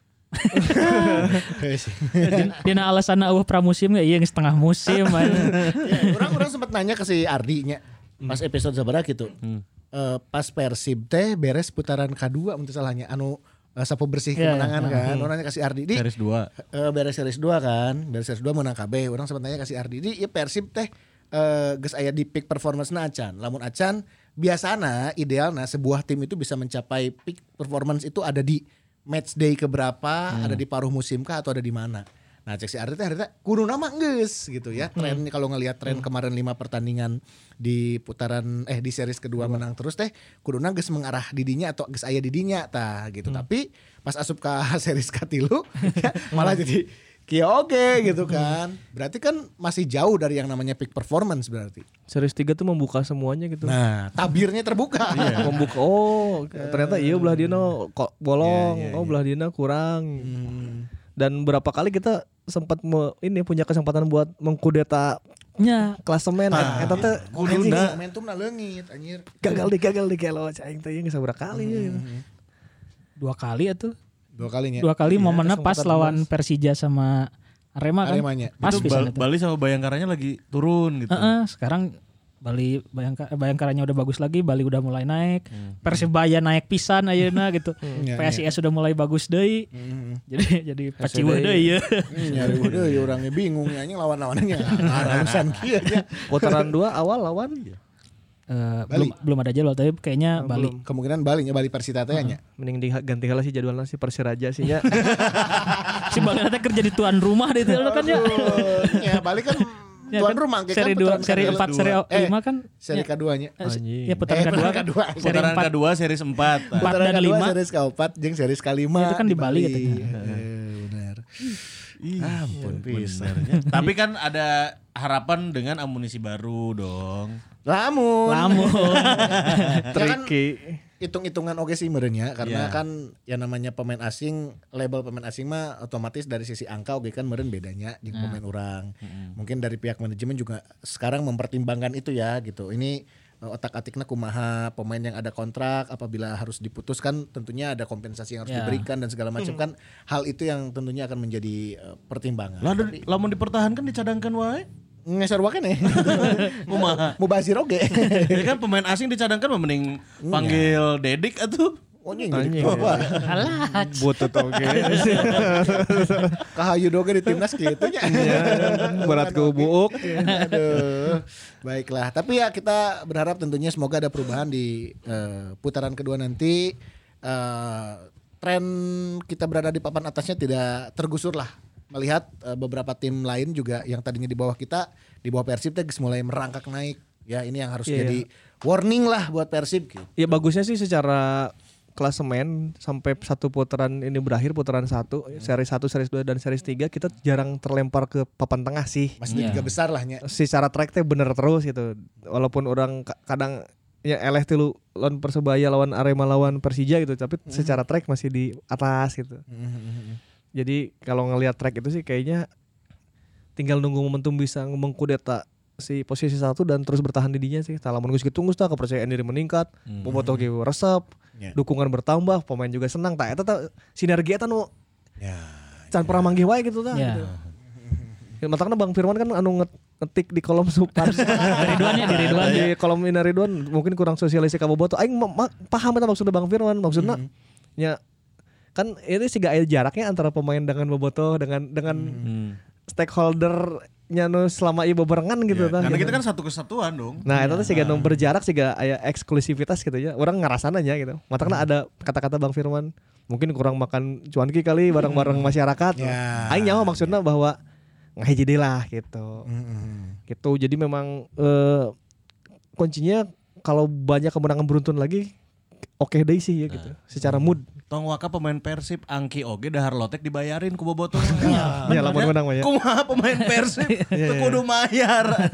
Dina alasan eueuh pramusim ge ieu geus setengah musim. Orang-orang sempat nanya ke si Ardi nya pas episode sabaraha gitu. Eh, pas Persib teh beres putaran kedua untuk salahnya anu eh, sapu bersih Iya, kemenangan iya. kan. Orang nanya kasih Ardi di Series dua. eh, beres series dua kan. Beres series dua menang K B. Orang sempat nanya kasih Ardi di ieu Persib teh eh, geus aya di peak performance-na acan. Lamun acan biasana idealna sebuah tim itu bisa mencapai peak performance itu ada di match day keberapa, ada di paruh musim kah atau ada di mana. Nah cek si Ardi teh harita kudu nama geus gitu ya. Tren kalau ngelihat tren kemarin lima pertandingan di putaran eh di series kedua menang terus teh kuduna geus mengarah didinya atau geus aya didinya tah gitu. Tapi pas asup ka series katilu ya, malah jadi kieu oge gitu kan. Berarti kan masih jauh dari yang namanya peak performance berarti. Series tiga tuh membuka semuanya gitu. Nah, tabirnya terbuka. Membuka oh ternyata iya belah dina kok bolong, oh belah dina kurang. Dan berapa kali kita sempat me, ini punya kesempatan buat mengkudeta Nya klasemen Ah, eta teh kuduna momentumna leungit anjir. gagal di gagal di kelo aing teh geus sabaraha kali ya. dua kali atuh. Dua kalinya. Dua kali momennya pas kesempatan lawan Persija sama Arema kan. Aremanya. Pas Itu bisa Bal- itu. Bali sama Bayangkaranya lagi turun gitu. Heeh, sekarang Bali Bayangka, eh, Bayangkaranya udah bagus lagi, Bali udah mulai naik, Persibaya naik pisan ayeuna gitu. Iya, P S I S sudah mulai bagus deui. Jadi jadi paciweuh S D. deui ya. Nyari udah ya orangnya bingung ya anjing lawan-lawannya arahusan kieu nya. Putaran dua awal lawan Eh, Bali. belum belum ada jadwal tapi kayaknya Bali. Kemungkinan Bali nya Bali Persita teh nya. mending diganti heula sih jadwalnya si Persiraja sih ya. Si Bali nanti kerja di tuan rumah deh itu kan ya. Ya Bali kan Ya tuan kan, rumah seri dua, seri empat, seri lima kan seri kedua-nya. eh, Anjing. ya putaran Eh, kedua putaran kan. kedua. Seri Putaran empat. kedua series empat. Empat Putaran dan kedua lima. seri keempat jeung seri kelima. Itu kan di Bali katanya. Eh, benar. Ampun pisan. Benernya. Tapi kan ada harapan dengan amunisi baru dong. Lamun. Lamun. Tricky. Hitung-hitungan oke sih merenya karena Iya. kan yang namanya pemain asing, label pemain asing mah otomatis dari sisi angka oke kan meren bedanya jeung pemain orang. Mungkin dari pihak manajemen juga sekarang mempertimbangkan itu ya gitu. Ini otak-atikna kumaha pemain yang ada kontrak apabila harus diputuskan tentunya ada kompensasi yang harus Ya. diberikan dan segala macam kan hal itu yang tentunya akan menjadi uh, pertimbangan. Lah lamun dipertahankan dicadangkan wae. Ngeser wae nih. Kumaha? Mubazir oge. Ya kan pemain asing dicadangkan mah mending panggil Dedik atuh. Oh nying. Anjing. Alah. Butut oke. Kahayu doge di timnas kitu nya. Berat ke buuk. Aduh. Baiklah, tapi ya kita berharap tentunya semoga ada perubahan di uh, putaran kedua nanti. Uh, tren kita berada di papan atasnya tidak tergusur lah. Melihat uh, beberapa tim lain juga yang tadinya di bawah kita, di bawah Persib teh geus mulai merangkak naik. Ya ini yang harus Iya. jadi warning lah buat Persib gitu. Ya bagusnya sih secara klasemen sampai satu putaran ini berakhir putaran satu, seri satu, seri dua dan seri tiga kita jarang terlempar ke papan tengah sih. Masih di Iya. tiga besar lah nya. Secara track teh bener terus gitu. Walaupun orang ka- kadang ya eleh tilu lawan Persebaya lawan Arema lawan Persija gitu, tapi secara track masih di atas gitu. Jadi kalau ngelihat track itu sih kayaknya tinggal nunggu momentum bisa mengkudeta si posisi satu dan terus bertahan di dinya sih. Talamun geus kitu geus tah kepercayaan diri meningkat, bobotoh ge resep, Ya. dukungan bertambah, pemain juga senang tah eta tah sinergi eta nu Ya. can pernah manggih wae gitu tah. Ya. Gitu. Ya, matangna Bang Firman kan anu nget- ngetik di kolom super Ridwan ya, di Ridwan di kolom Ina Ridwan mungkin kurang sosialisasi ka bobotoh. Aing ma- ma- paham eta maksudnya Bang Firman, maksudnya nya kan ini sih gak ada jaraknya antara pemain dengan bobotoh dengan dengan stakeholder nya nu selama ieu bebarengan gitu tah. Karena gitu. kita kan satu kesatuan dong. Nah, itu tuh sih nu berjarak sih gak aya eksklusivitas gitu ya. Orang ngerasana aja gitu. Matangna ada kata-kata Bang Firman, mungkin kurang makan cuanki kali bareng-bareng masyarakat. Ya. Aing nyaho maksudnya bahwa ngahiji deui lah gitu. Gitu. Jadi memang eh, kuncinya kalau banyak kemenangan beruntun lagi oke deui sih ya gitu. Secara mood. Tong waka pemain Persib Angki oge dahar lotek dibayarin ku bobotoh. Ya lamun menang mah ya. Kumaha pemain Persib teu kudu mayar.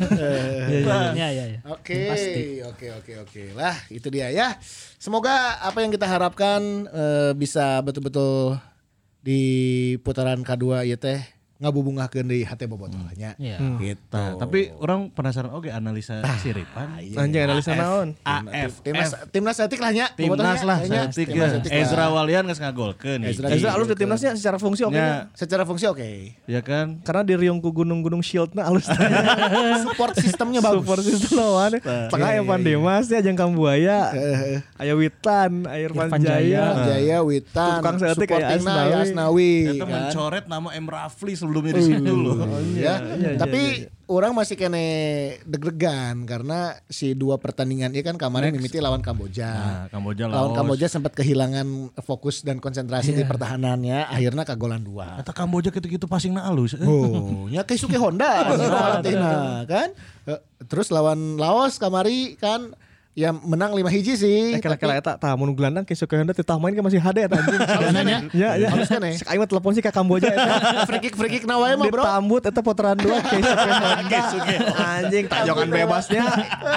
Ya, ya, ya. Oke, oke, oke, oke. Lah, itu dia ya. Semoga apa yang kita harapkan eh, bisa betul-betul di putaran kedua ieu teh ngabubungahkeun deui hate bobotohnya. Iya. Gitu. Nah, tapi orang penasaran oge analisa Siripan. Anjing analisa naon? A F Timnas timnas etik lah nya. Timnas lah nya. saeutik Timnas ya. etik lah. Ezra Walian geus ngagolkeun. Ezra Ezra alus di timnasnya secara fungsi oke. Ya, Secara fungsi oke. ya kan? Karena di riung ku gunung-gunung shieldna alus. Support sistemnya bagus. Support system lawan. Tengah aya Pandemas ya jeung Kambuaya. Aya Witan, aya Irfan Irfan Jaya. Jaya. Jaya Witan. Tukang seetik kayak supportingna Asnawi. aya Asnawi. Kita kan. mencoret nama M Rafli sebelumnya di situ loh. Ya. iya, Tapi orang masih kene deg-degan karena si dua pertandingan ini kan kemarin mimiti lawan Kamboja. Nah, Kamboja Lawan Laos. Kamboja sempat kehilangan fokus dan konsentrasi di pertahanannya, akhirnya kagolan dua. Kata Kamboja gitu-gitu passingna alus. Eh. Oh, nya Keisuke Honda Argentina kan. Eh, Terus lawan Laos kamari kan ya menang lima hiji sih. Eh kela-kela eta tah mun gelandang ke Sukahenda teh tah main ke masih hade eta anjing. Nanya. Ya ya. Halus kan ya? Cek aing mah telepon sih ka Kamboja eta. Free kick free kick na wae mah bro. Ditambut eta putaran dua ke Sukahenda. Anjing tajongan bebasnya.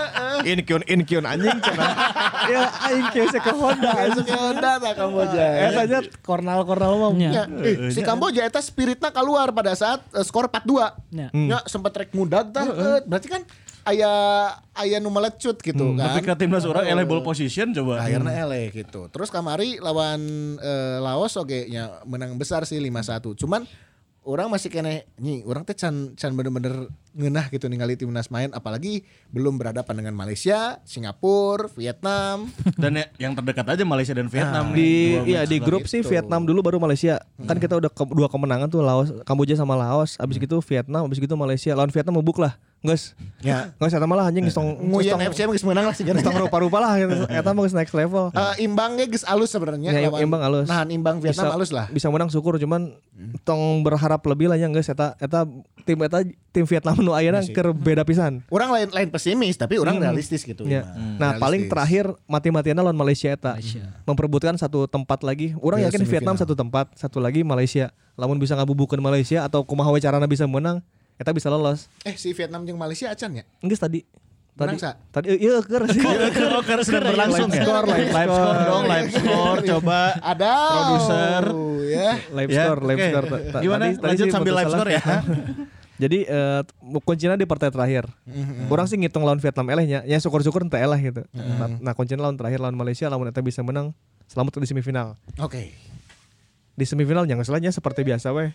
In kyun in kyun anjing cenah. Ya aing ke Sukahenda. Keisuke Honda tak Kamboja. Eta nya kornal-kornal mah. Ya. Ya, eh, si Kamboja eta spiritnya keluar pada saat eh, skor empat dua. Ya. Ya sempat rek mudag tah. eh, Berarti kan aya aya nu melecut gitu kan. Tapi ke timnas orang eleh ball position coba. Akhirnya eleh gitu. Terus kamari lawan eh, Laos oge nya menang besar sih lima satu. Cuman orang masih kene nyi, orang teh can can bener-bener ngeunah gitu ningali timnas main apalagi belum berhadapan dengan Malaysia, Singapura, Vietnam. Dan ya- yang terdekat aja Malaysia dan Vietnam. Di Dua iya match di lagi. grup sih gitu. Vietnam dulu baru Malaysia. Kan kita udah ke- dua kemenangan tuh Laos, Kamboja sama Laos. Abis gitu Vietnam, abis gitu Malaysia. Lawan Vietnam mebuk lah. Geus. Ya. Geus eta malah anjing geus tong Nguyen F C mah geus menang lah sih geus tong rupa-rupa lah gitu. Eta mah geus next level. Eh, imbangnya geus alus sebenarnya Ya, lawan- imbang alus. Nahan imbang Vietnam alus lah. Bisa menang syukur cuman tong berharap lebih lah ya geus eta eta tim eta tim Vietnam nu ayeuna keur beda pisan. Orang lain lain pesimis tapi orang realistis gitu. Ya. Hmm, Nah, realistis. paling terakhir mati-matiannya lawan Malaysia eta. Memperebutkan satu tempat lagi. Orang Ke yakin Vietnam semifinal. satu tempat, satu lagi Malaysia. Lamun bisa ngabubukeun Malaysia atau kumaha we carana bisa menang, eta bisa lolos. Eh si Vietnam jeung Malaysia acan ya? Geus tadi. Tadi Menang, Sa? tadi iya keur sih. Oh, karena sedang berlangsung Live ya. score, live live score. score dong, live score coba. Ada Produser. ya. Live Ya, score, live oke. score. Ta- Gimana? tadi- tadi Lanjut sih sambil menurut live salah. score ya. Jadi uh, kuncinya di partai terakhir. Mhm. Orang sih ngitung lawan Vietnam elehnya, ya syukur-syukur ente elah gitu. Nah, nah kuncinya lawan terakhir lawan Malaysia, lawan eta bisa menang selamat di semifinal. Oke. Di semifinal yang ngeselahnya seperti biasa weh.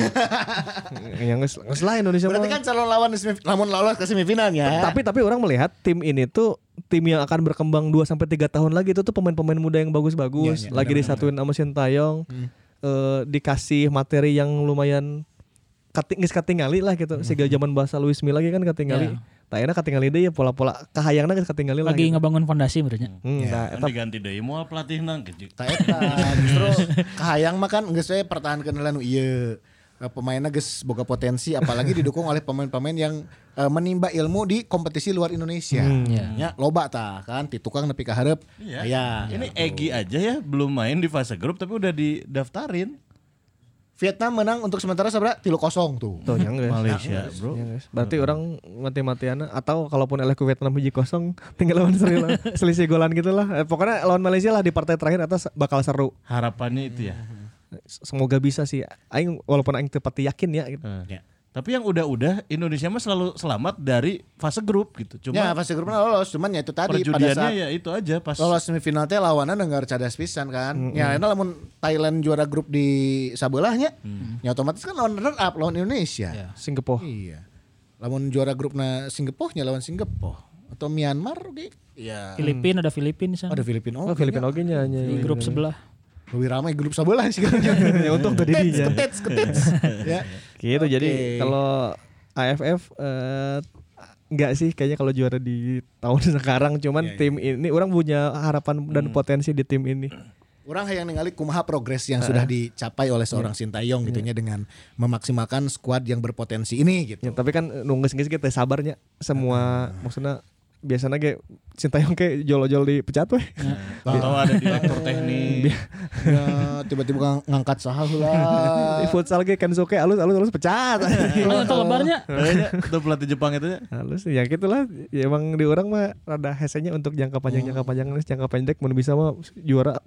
Yang ngeselah Indonesia. Berarti mah. kan calon lawan di semif- lamun lolos ke semifinalnya. Tapi tapi orang melihat tim ini tuh tim yang akan berkembang dua sampai tiga tahun lagi itu tuh pemain-pemain muda yang bagus-bagus, Iya, iya, lagi disatuin sama Sintayong. Hmm. eh, dikasih materi yang lumayan kating geus katingali lah gitu. Siga zaman bahasa Luis Milla lagi kan katingali. Ya. Tah enak katingali deui ya pola-pola kahayangna geus katingali lah. Lagi gitu. ngebangun fondasi berarti. Hmm, Ya, tah, Kan eta diganti deui moal pelatihna gitu. Ta eta justru kahayang mah kan geus we pertahankeun heula nu ieu. Eh, Pemainnya geus boga potensi apalagi didukung oleh pemain-pemain yang eh, menimba ilmu di kompetisi luar Indonesia. ya. Ya, loba tah kan ti tukang nepi ka hareup. Iya. Aya. Ini Egy aja ya belum main di fase grup tapi udah didaftarin. Vietnam menang untuk sementara sabra tilu kosong tuh. tuh yang geus. Malaysia, Bro. Ya, guys. Berarti orang mati-matiana atau kalaupun eleh ku Vietnam hiji kosong tinggal lawan Sri Lanka selisih golan gitu lah. Eh, pokoknya lawan Malaysia lah di partai terakhir atas bakal seru. Harapannya itu ya. Semoga bisa sih. Aing walaupun aing teu pati yakin ya gitu. Eh. Tapi yang udah-udah Indonesia mah selalu selamat dari fase grup gitu. Ya, Cuma fase grupnya lolos, cuman ya itu tadi pada perjudiannya saat ya itu aja pas lolos semifinal teh lawanna dengar cadas pisan kan. Ya, eta lamun Thailand juara grup di sabelahnya, ya otomatis kan lawan runner up lawan Indonesia. Singapura. Iya. Lamun juara grupna Singapura nya lawan Singapura atau Myanmar oke. Iya. Filipina ada Filipina di Oh, sana. ada Filipina. Oh, Filipina oge nya nya. Di grup sebelah. Lebih ramai grup sebelah sih kan. Ya untung tadi Ketets, dia. ketets, ketets. Ya. Gitu Oke. jadi kalau A F F eh, enggak sih kayaknya kalau juara di tahun sekarang cuman Iya, iya. tim ini orang punya harapan dan potensi di tim ini. Orang hayang ningali kumaha progres yang sudah dicapai oleh seorang Sintayong gitu nya dengan memaksimalkan skuad yang berpotensi ini gitu. Ya, tapi kan nunggu geus kita sabarnya semua maksudnya biasanya kayak Sintayong kayak jolo-jolo dipecat weh. atau ada direktur teknik. Ya, tiba-tiba ng- ngangkat saha heula. Di futsal ge kan soke alus alus alus pecat. Oh, itu lebarnya. Kayaknya itu pelatih Jepang itu ya. Halus ya gitulah. Ya emang di orang mah rada hesenya untuk jangka panjang jangka panjang jangka pendek mun bisa mah juara.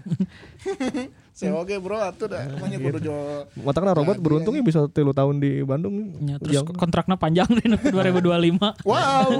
Saya oke bro, atuh dah. Namanya kudu jo. Matangna robot beruntung ya bisa tilu tahun di Bandung. Ya, terus Yang- kontraknya panjang di dua ribu dua puluh lima. Wow.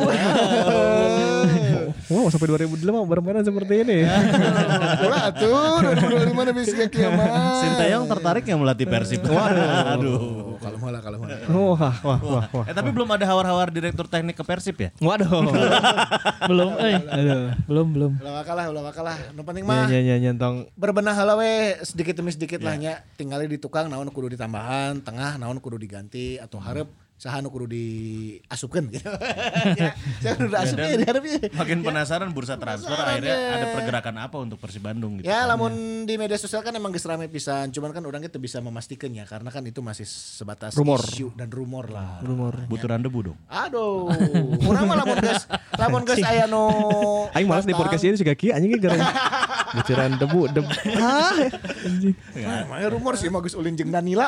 Wow sampai dua ribu delapan bermainan seperti ini. Ulah atuh dua ribu dua puluh lima udah bisa kiamat. Sintayong tertarik yang melatih Persib. Aduh. Kalau malah kalau malah. Wah wah wah wah. Eh tapi belum ada hawar-hawar direktur teknik ke Persib ya? Waduh. Belum, eh. Belum, belum. Ulah wakalah, ulah wakalah. Nu penting Ya mah ya ya nyentong. berbenah heula we sedikit demi sedikit lah nya. Tinggali di tukang naon kudu ditambahan, tengah naon kudu diganti atau hareup saha nu kudu diasupkeun gitu. Ya, jangan udah asup ya dihareup ya. Makin penasaran bursa transfer akhirnya ada pergerakan apa untuk Persib Bandung gitu. Ya lamun di media sosial kan emang geus rame pisan, cuman kan orang kita bisa memastikan ya karena kan itu masih sebatas Rumor. isu dan rumor lah. Rumor. Buturan debu dong. Aduh, urang mah lamun geus lamun geus aya nu Aing malas di podcast ini juga kieu anjing gara buciran debu debu. Ah, anjing. Ya, emangnya rumor sih mah geus ulin jeung Danila.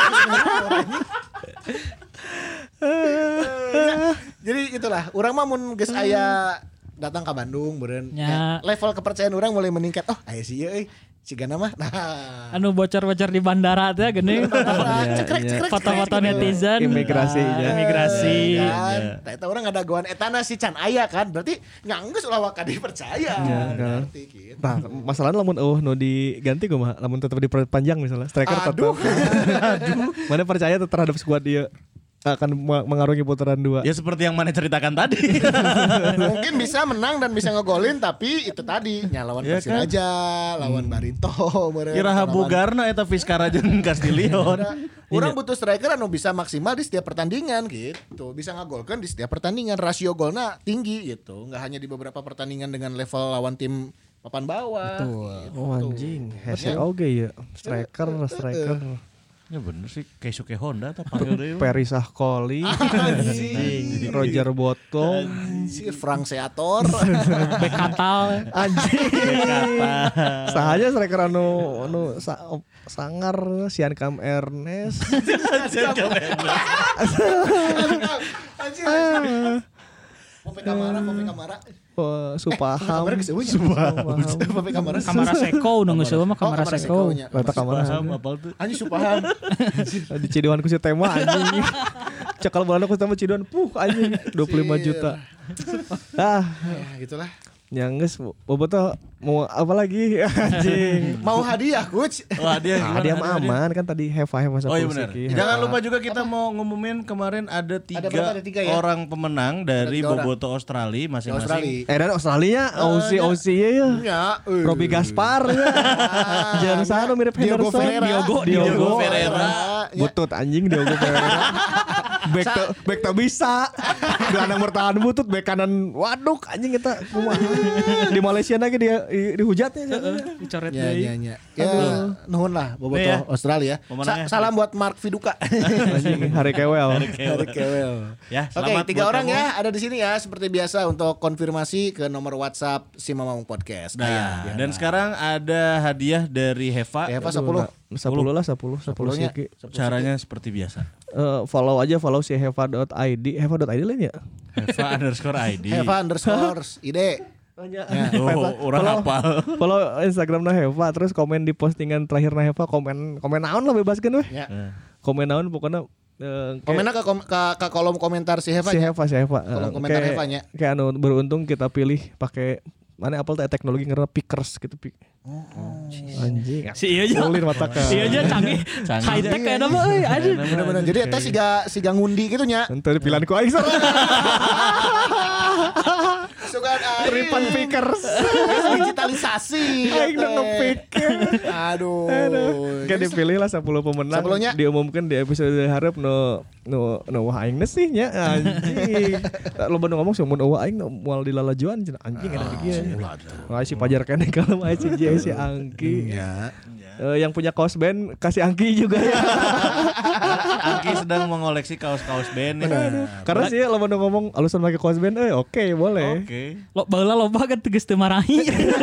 Ya, jadi itulah, urang mah mun geus aya datang ke Bandung beureun Ya. ya, level kepercayaan orang mulai meningkat. Oh, aya si ieu euy. Sigana mah. Nah. Anu bocor-bocor di bandara teh geuning. Iya, Cekrek, iya. cekrek, Foto-foto cekrek. netizen. Imigrasi, Nah, ya. Imigrasi. kan. Nah, eta orang ada goan etana si can aya kan. Berarti nganggeus ulah waka dipercaya. Iya, kan. Berarti gitu. Nah, masalahnya lamun eueuh nu diganti kumaha? Lamun tetep diperpanjang misalnya striker tetep. Aduh. Aduh. Mana percaya tuh terhadap skuad dia akan ma- mengarungi putaran dua. Ya seperti yang mana ceritakan tadi. Mungkin bisa menang dan bisa ngegolin tapi itu tadi nya lawan Ya kan? Persiraja, lawan Barito, meureun. Kira lawan- Bogarna eta Vizcara jeung Castillion. Orang butuh striker anu bisa maksimal di setiap pertandingan gitu. Bisa ngagolkan di setiap pertandingan. Rasio golnya tinggi gitu. Nggak hanya di beberapa pertandingan dengan level lawan tim papan bawah. Gitu. Oh anjing, hese oge ya. Striker, striker. Ya bener sih Keisuke Honda atau panggil deui. Peri Sahkoli, anjing, Roger Botong, Si Frank Seator. Bek katal. anjing. Sahanya striker anu anu sa- sangar Sian Kam Ernest. Pope Kamara, Pope Kamara. Oh, Supaham. Kamara geus eueuh nya. Supaham. Pope Kamara. Kamara Seko nu geus eueuh mah Oh, Kamara Seko. nya. Kata kamar Paham apa tuh? Anjing Supaham. di Cidewan ku si tema anjing. Cekal bulan aku sama Cidon, puh anjing dua puluh lima juta. Ah, Ya, gitulah. nyangges bobotoh mau apa lagi anjing. Mau hadiah, Coach? Wah, dia Ah, gimana? dia Hadiah, mah hadiah. aman kan tadi Heva Heva Oh iya benar. Seki. Jangan lupa juga kita mau ngumumin kemarin ada tiga, berapa? Ada tiga ya? orang pemenang dari tiga orang. Boboto Australia masing-masing. Australia. Eh dan Australia, Aussie Aussie ya. Ya, eh. Robbie Gaspar ya. Jangan sana mirip Diogo Henderson. Ferreira. Diogo, Diogo Diogo Ferreira. Ya. Butut anjing Diogo Ferreira. Back to, back to bisa. Gelandang bertahan butut, back kanan waduk anjing kita kumaha. Di Malaysia lagi dia dihujatnya. Dicoret Ya, deui. ya, ya. Ya, nuhun lah Boboto Nih ya, Australia. Sa- pemenangnya. salam buat Mark Viduka. Anjing hari kewel. Dari Kewel. Ya, Oke, selamat tiga buat orang kamu. ya ada di sini ya seperti biasa untuk konfirmasi ke nomor WhatsApp si Mamang Podcast. Nah, Ayo, dan sekarang ada hadiah dari Heva. Eva sepuluh. Sepuluh lah sepuluh sepuluh Sepuluhnya. siki. Caranya seperti biasa. Eh, follow aja follow si heva.id heva.id lain ya. Heva underscore I D. Eva underscore ide. Oh, orang hafal. Follow Instagramnya Heva terus komen di postingan terakhirnya Heva komen komen naon lah bebaskeun weh. Ya. Komen naon pokoknya eh, kayak- Komennya ke, kom- ke, ke kolom komentar si Heva. si ya? Heva si Heva. Kolom Eh, komentar kayak- Hevanya. Kayak anu beruntung kita pilih pakai mana Apple teh teknologi ngarana pickers gitu pi. Anjing. Si iya aja. Ulir mata ka. Iya aja canggih. Canggih. High tech kayak apa euy anjing. Bener-bener. Jadi eta siga siga ngundi gitu nya. Ente pilihanku aing sor. Sugan Tripan pickers. digitalisasi. Aing udah ngepikir. Aduh. Kayak dipilih lah sepuluh pemenang. Sepuluhnya. Diumumkan di episode harap no no no wah aing sih nya anjing. Lo bener ngomong sih mun eueuh aing moal dilalajuan cenah anjing ada kieu. Wah si Pajar keneh kalau mah si J si Angki. Ya. Eh, yang punya kaos band kasih Angki juga ya. Angki sedang mengoleksi kaos-kaos band. Ya. Karena sih lo bener ngomong alusan pakai kaos band eh oke boleh. Oke. Lo baheula loba kan tegas teu marahi.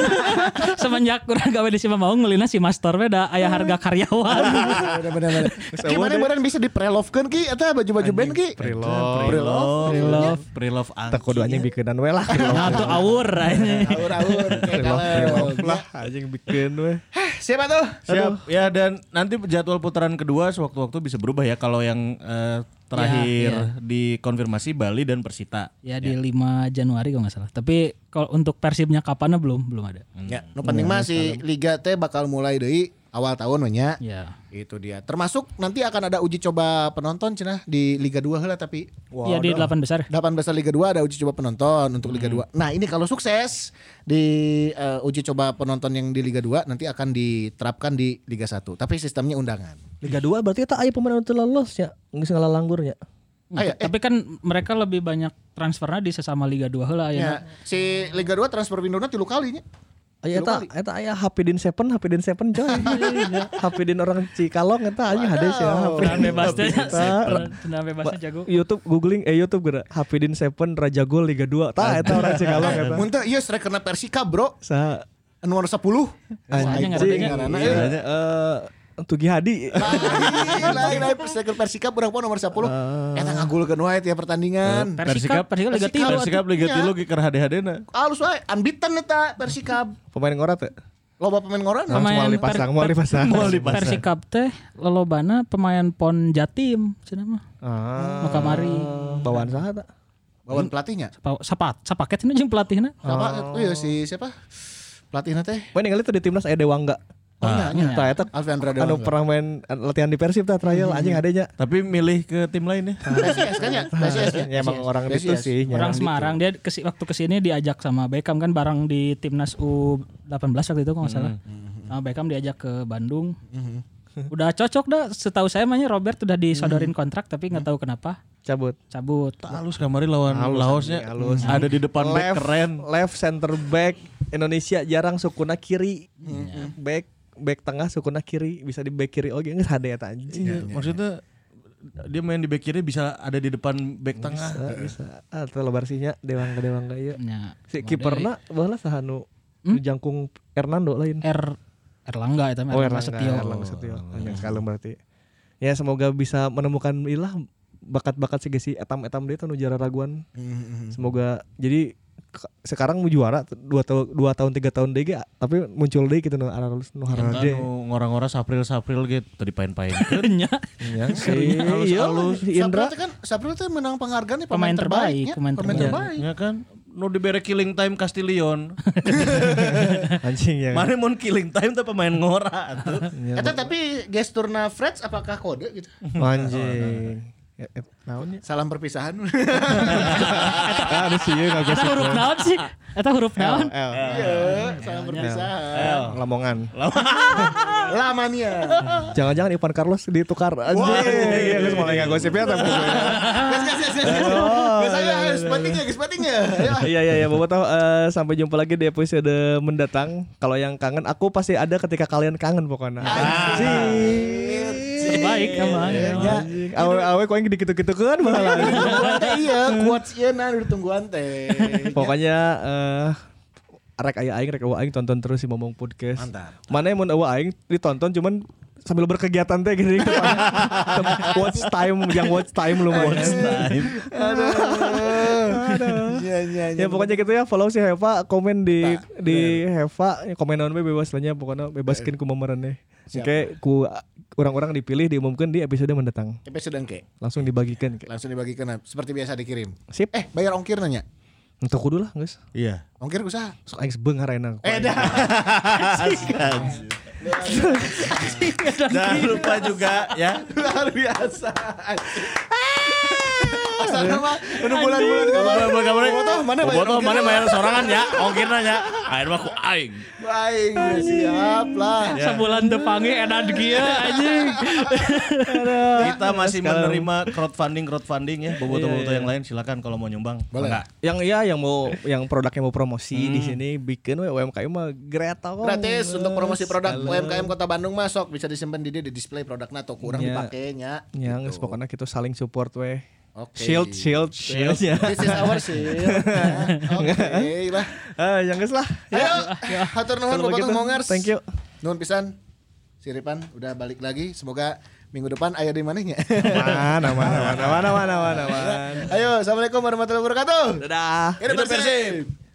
Semenjak kurang gawe di si Mamau ngeulina si Master we da aya harga karyawan. Bener-bener. Gimana beneran bisa di-prelovkeun ki eta baju-baju band ki? Preloved. Pre-love. Pre-love. Pre-love Angki. Tak kudu anjing bikeunan we lah. Nah tuh awur anjing. Awur-awur kayak Preloved, kalau. preloved lah anjing bikin we. Siapa tuh? Siap. Ya dan nanti jadwal putaran kedua sewaktu-waktu bisa berubah ya kalau yang eh, terakhir Ya, dikonfirmasi Bali dan Persita. Ya di lima Januari kalau nggak salah. Tapi kalau untuk Persibnya kapannya belum belum ada. Ya, nu penting mah si liga teh bakal mulai deui awal tahun we nya. Ya. Itu dia. Termasuk nanti akan ada uji coba penonton cenah di Liga dua heula tapi Iya di delapan besar. delapan besar Liga dua ada uji coba penonton untuk Liga dua. Nah, ini kalau sukses di eh, uji coba penonton yang di Liga dua nanti akan diterapkan di Liga satu. Tapi sistemnya undangan. Liga dua berarti eta aya pemain anu lolos ya. Geus ngalalanggur nya. Ah, ya, eh. Tapi kan mereka lebih banyak transfernya di sesama Liga dua heula Ya, aya. si Liga dua transfer windowna tilu kalinya. Aya eta Tilu kali. eta aya Hapidin Seven, Hapidin Seven coy. Hapidin orang Cikalong eta anjing hade sih. Tenang bebas teh. Eta Tenang bebasnya jago. YouTube googling eh YouTube geura Hapidin Seven Raja Gol Liga dua. Tah eta orang Cikalong eta. Mun teh ieu strikerna Persika, Bro. Sa Nomor sepuluh. Anjing anjing ngaranna, iya, eh. eh Tugi Hadi. Lain lain striker Persika urang poe nomor sepuluh. Eta ngagulkeun wae tiap pertandingan. Persika, Persika Liga Persikap. tilu. Persikap Liga Iya. tilu giker hade-hadena. Alus wae unbeaten eta Persikap. Pemain ngorat ya? Loba pemain ngoran. Pemain Moal dipasang, moal dipasang. Moal dipasang. Persikap teh lolobana pemain Pon Jatim cenah mah. Ah. Nu kamari. Bawaan saha ta? Bawaan pelatihnya. Sapa sapat sapaket cenah jeung pelatihna. Siapa? Oh iya si siapa? Pelatihnya teh. Poin ningali tuh di timnas aya Dewangga. Oh iya, iya. Tah eta Alfiandra anu Dewangga. pernah main latihan di Persib tah trial anjing adanya. Tapi milih ke tim lain ya. P S I S kan ya? P S I S ya? Ya emang orang P S I S. itu sih. Orang nyerang Semarang dia kesi, waktu kesini diajak sama Beckham kan bareng di timnas U delapan belas waktu itu kalau nggak salah. Sama Beckham diajak ke Bandung. Udah cocok dah. Setahu saya namanya Robert udah disodorin kontrak tapi nggak tahu kenapa cabut. cabut. Halus kamari lawan Halus, Laosnya. anjing, halus. Ada di depan back Left, keren. left center back Indonesia jarang sukuna kiri. Back back tengah sukuna kiri bisa di back kiri oke geus hade eta anjing. Iya, maksudnya dia main di back kiri bisa ada di depan back tengah. Bisa, bisa. Ah, teu lebar sinya Dewangga Dewangga ieu. Ya, Si kiperna baheula saha nu nu jangkung Hernando lain. R Erlangga itu Oh Erlangga Erlangga, Setio. Erlangga Setio. Yang sekalem berarti. Ya semoga bisa menemukan ilah bakat-bakat si Gesi etam-etam dia tuh nu jara raguan. Semoga jadi sekarang mau juara dua tahun dua tahun tiga tahun deh ge, tapi muncul deh gitu nu aralus nu Kan harade. ngora-ngora sapril-sapril gitu tadi pain-pain. Nya Ya si halus-halus. Indra Sapril teh kan Sapril teh menang penghargaan nih Pemain pemain terbaik, terbaik. pemain Pemain terbaik. terbaik. Ya kan nu dibere killing time Castillion. anjing ya. Mana mun killing time teh pemain ngora atuh. Eta tapi gesturna Freds apakah kode gitu? Anjing. Ya, eh, naon ya? Salam perpisahan. Ada sih ya Eta huruf naon sih? Eta huruf naon? L. Iya, salam perpisahan. Lamongan. Lamania. Jangan-jangan Ivan Carlos ditukar anjing. Iya, geus mulai ngagosipnya tapi. Gas gas gas gas. Gas saya guys, pentingnya guys, pentingnya. Ya. Iya iya iya, Bobo tahu eh, sampai jumpa lagi di episode mendatang. Kalau yang kangen aku pasti ada ketika kalian kangen pokoknya. Anjing. Baik emang. Ya. Awe-awe kok yang gitu-gitu kan malah. Iya, quotes ieu nah ditungguan teh. Pokoknya eh rek aya aing rek eueuh aing tonton terus si Momong Podcast. Mantap. Mana yang mun eueuh aing ditonton cuman sambil berkegiatan teh gini. Watch time yang watch time lumayan. Watch time. Aduh. Aduh. Iya iya Ya pokoknya gitu ya, follow si Heva, komen di di Heva, komen naon we bebas lah nya, pokoknya bebaskeun ku momeraneh. Oke, ku orang-orang dipilih diumumkan di episode mendatang. Episode engke. Langsung dibagikan. Langsung dibagikan seperti biasa dikirim. Sip. Eh, bayar ongkir nanya. Untuk kudu lah, guys. Iya. Ongkir usaha. Sok aing sebeungar ayeuna. Eh dah. Jangan lupa juga ya. Luar biasa. Asal nama udah bulan-bulan kemarin. Bulan kemarin. Bobotoh mana bayar Bobotoh ongkir? mana bayar sorangan ya. Ongkirna nya. Air mah ku aing. Baik, siap lah. Sebulan depange edan kieu anjing. Kita masih menerima crowdfunding crowdfunding ya. Bobotoh-bobotoh yang lain silakan kalau mau nyumbang. Boleh. Enggak. Yang iya yang mau yang produknya mau promosi di sini bikin we U M K M mah greta kok. Gratis untuk promosi produk U M K M Kota Bandung masuk bisa disimpan di dia di display produknya atau kurang Ya. dipakainya. Ya, geus pokoknya kita saling support we. Oke. Shield, shield, shield ya. This is our shield. Oke lah. Ah, yang geus lah. Ayo, hatur nuhun Kalau Bobotoh begitu, Mongers. thank you. Nuhun pisan. Siripan udah balik lagi. Semoga minggu depan aya di manehnya. Mana mana mana mana mana mana. Ayo, assalamualaikum warahmatullahi wabarakatuh. Dadah. Hidup Persib.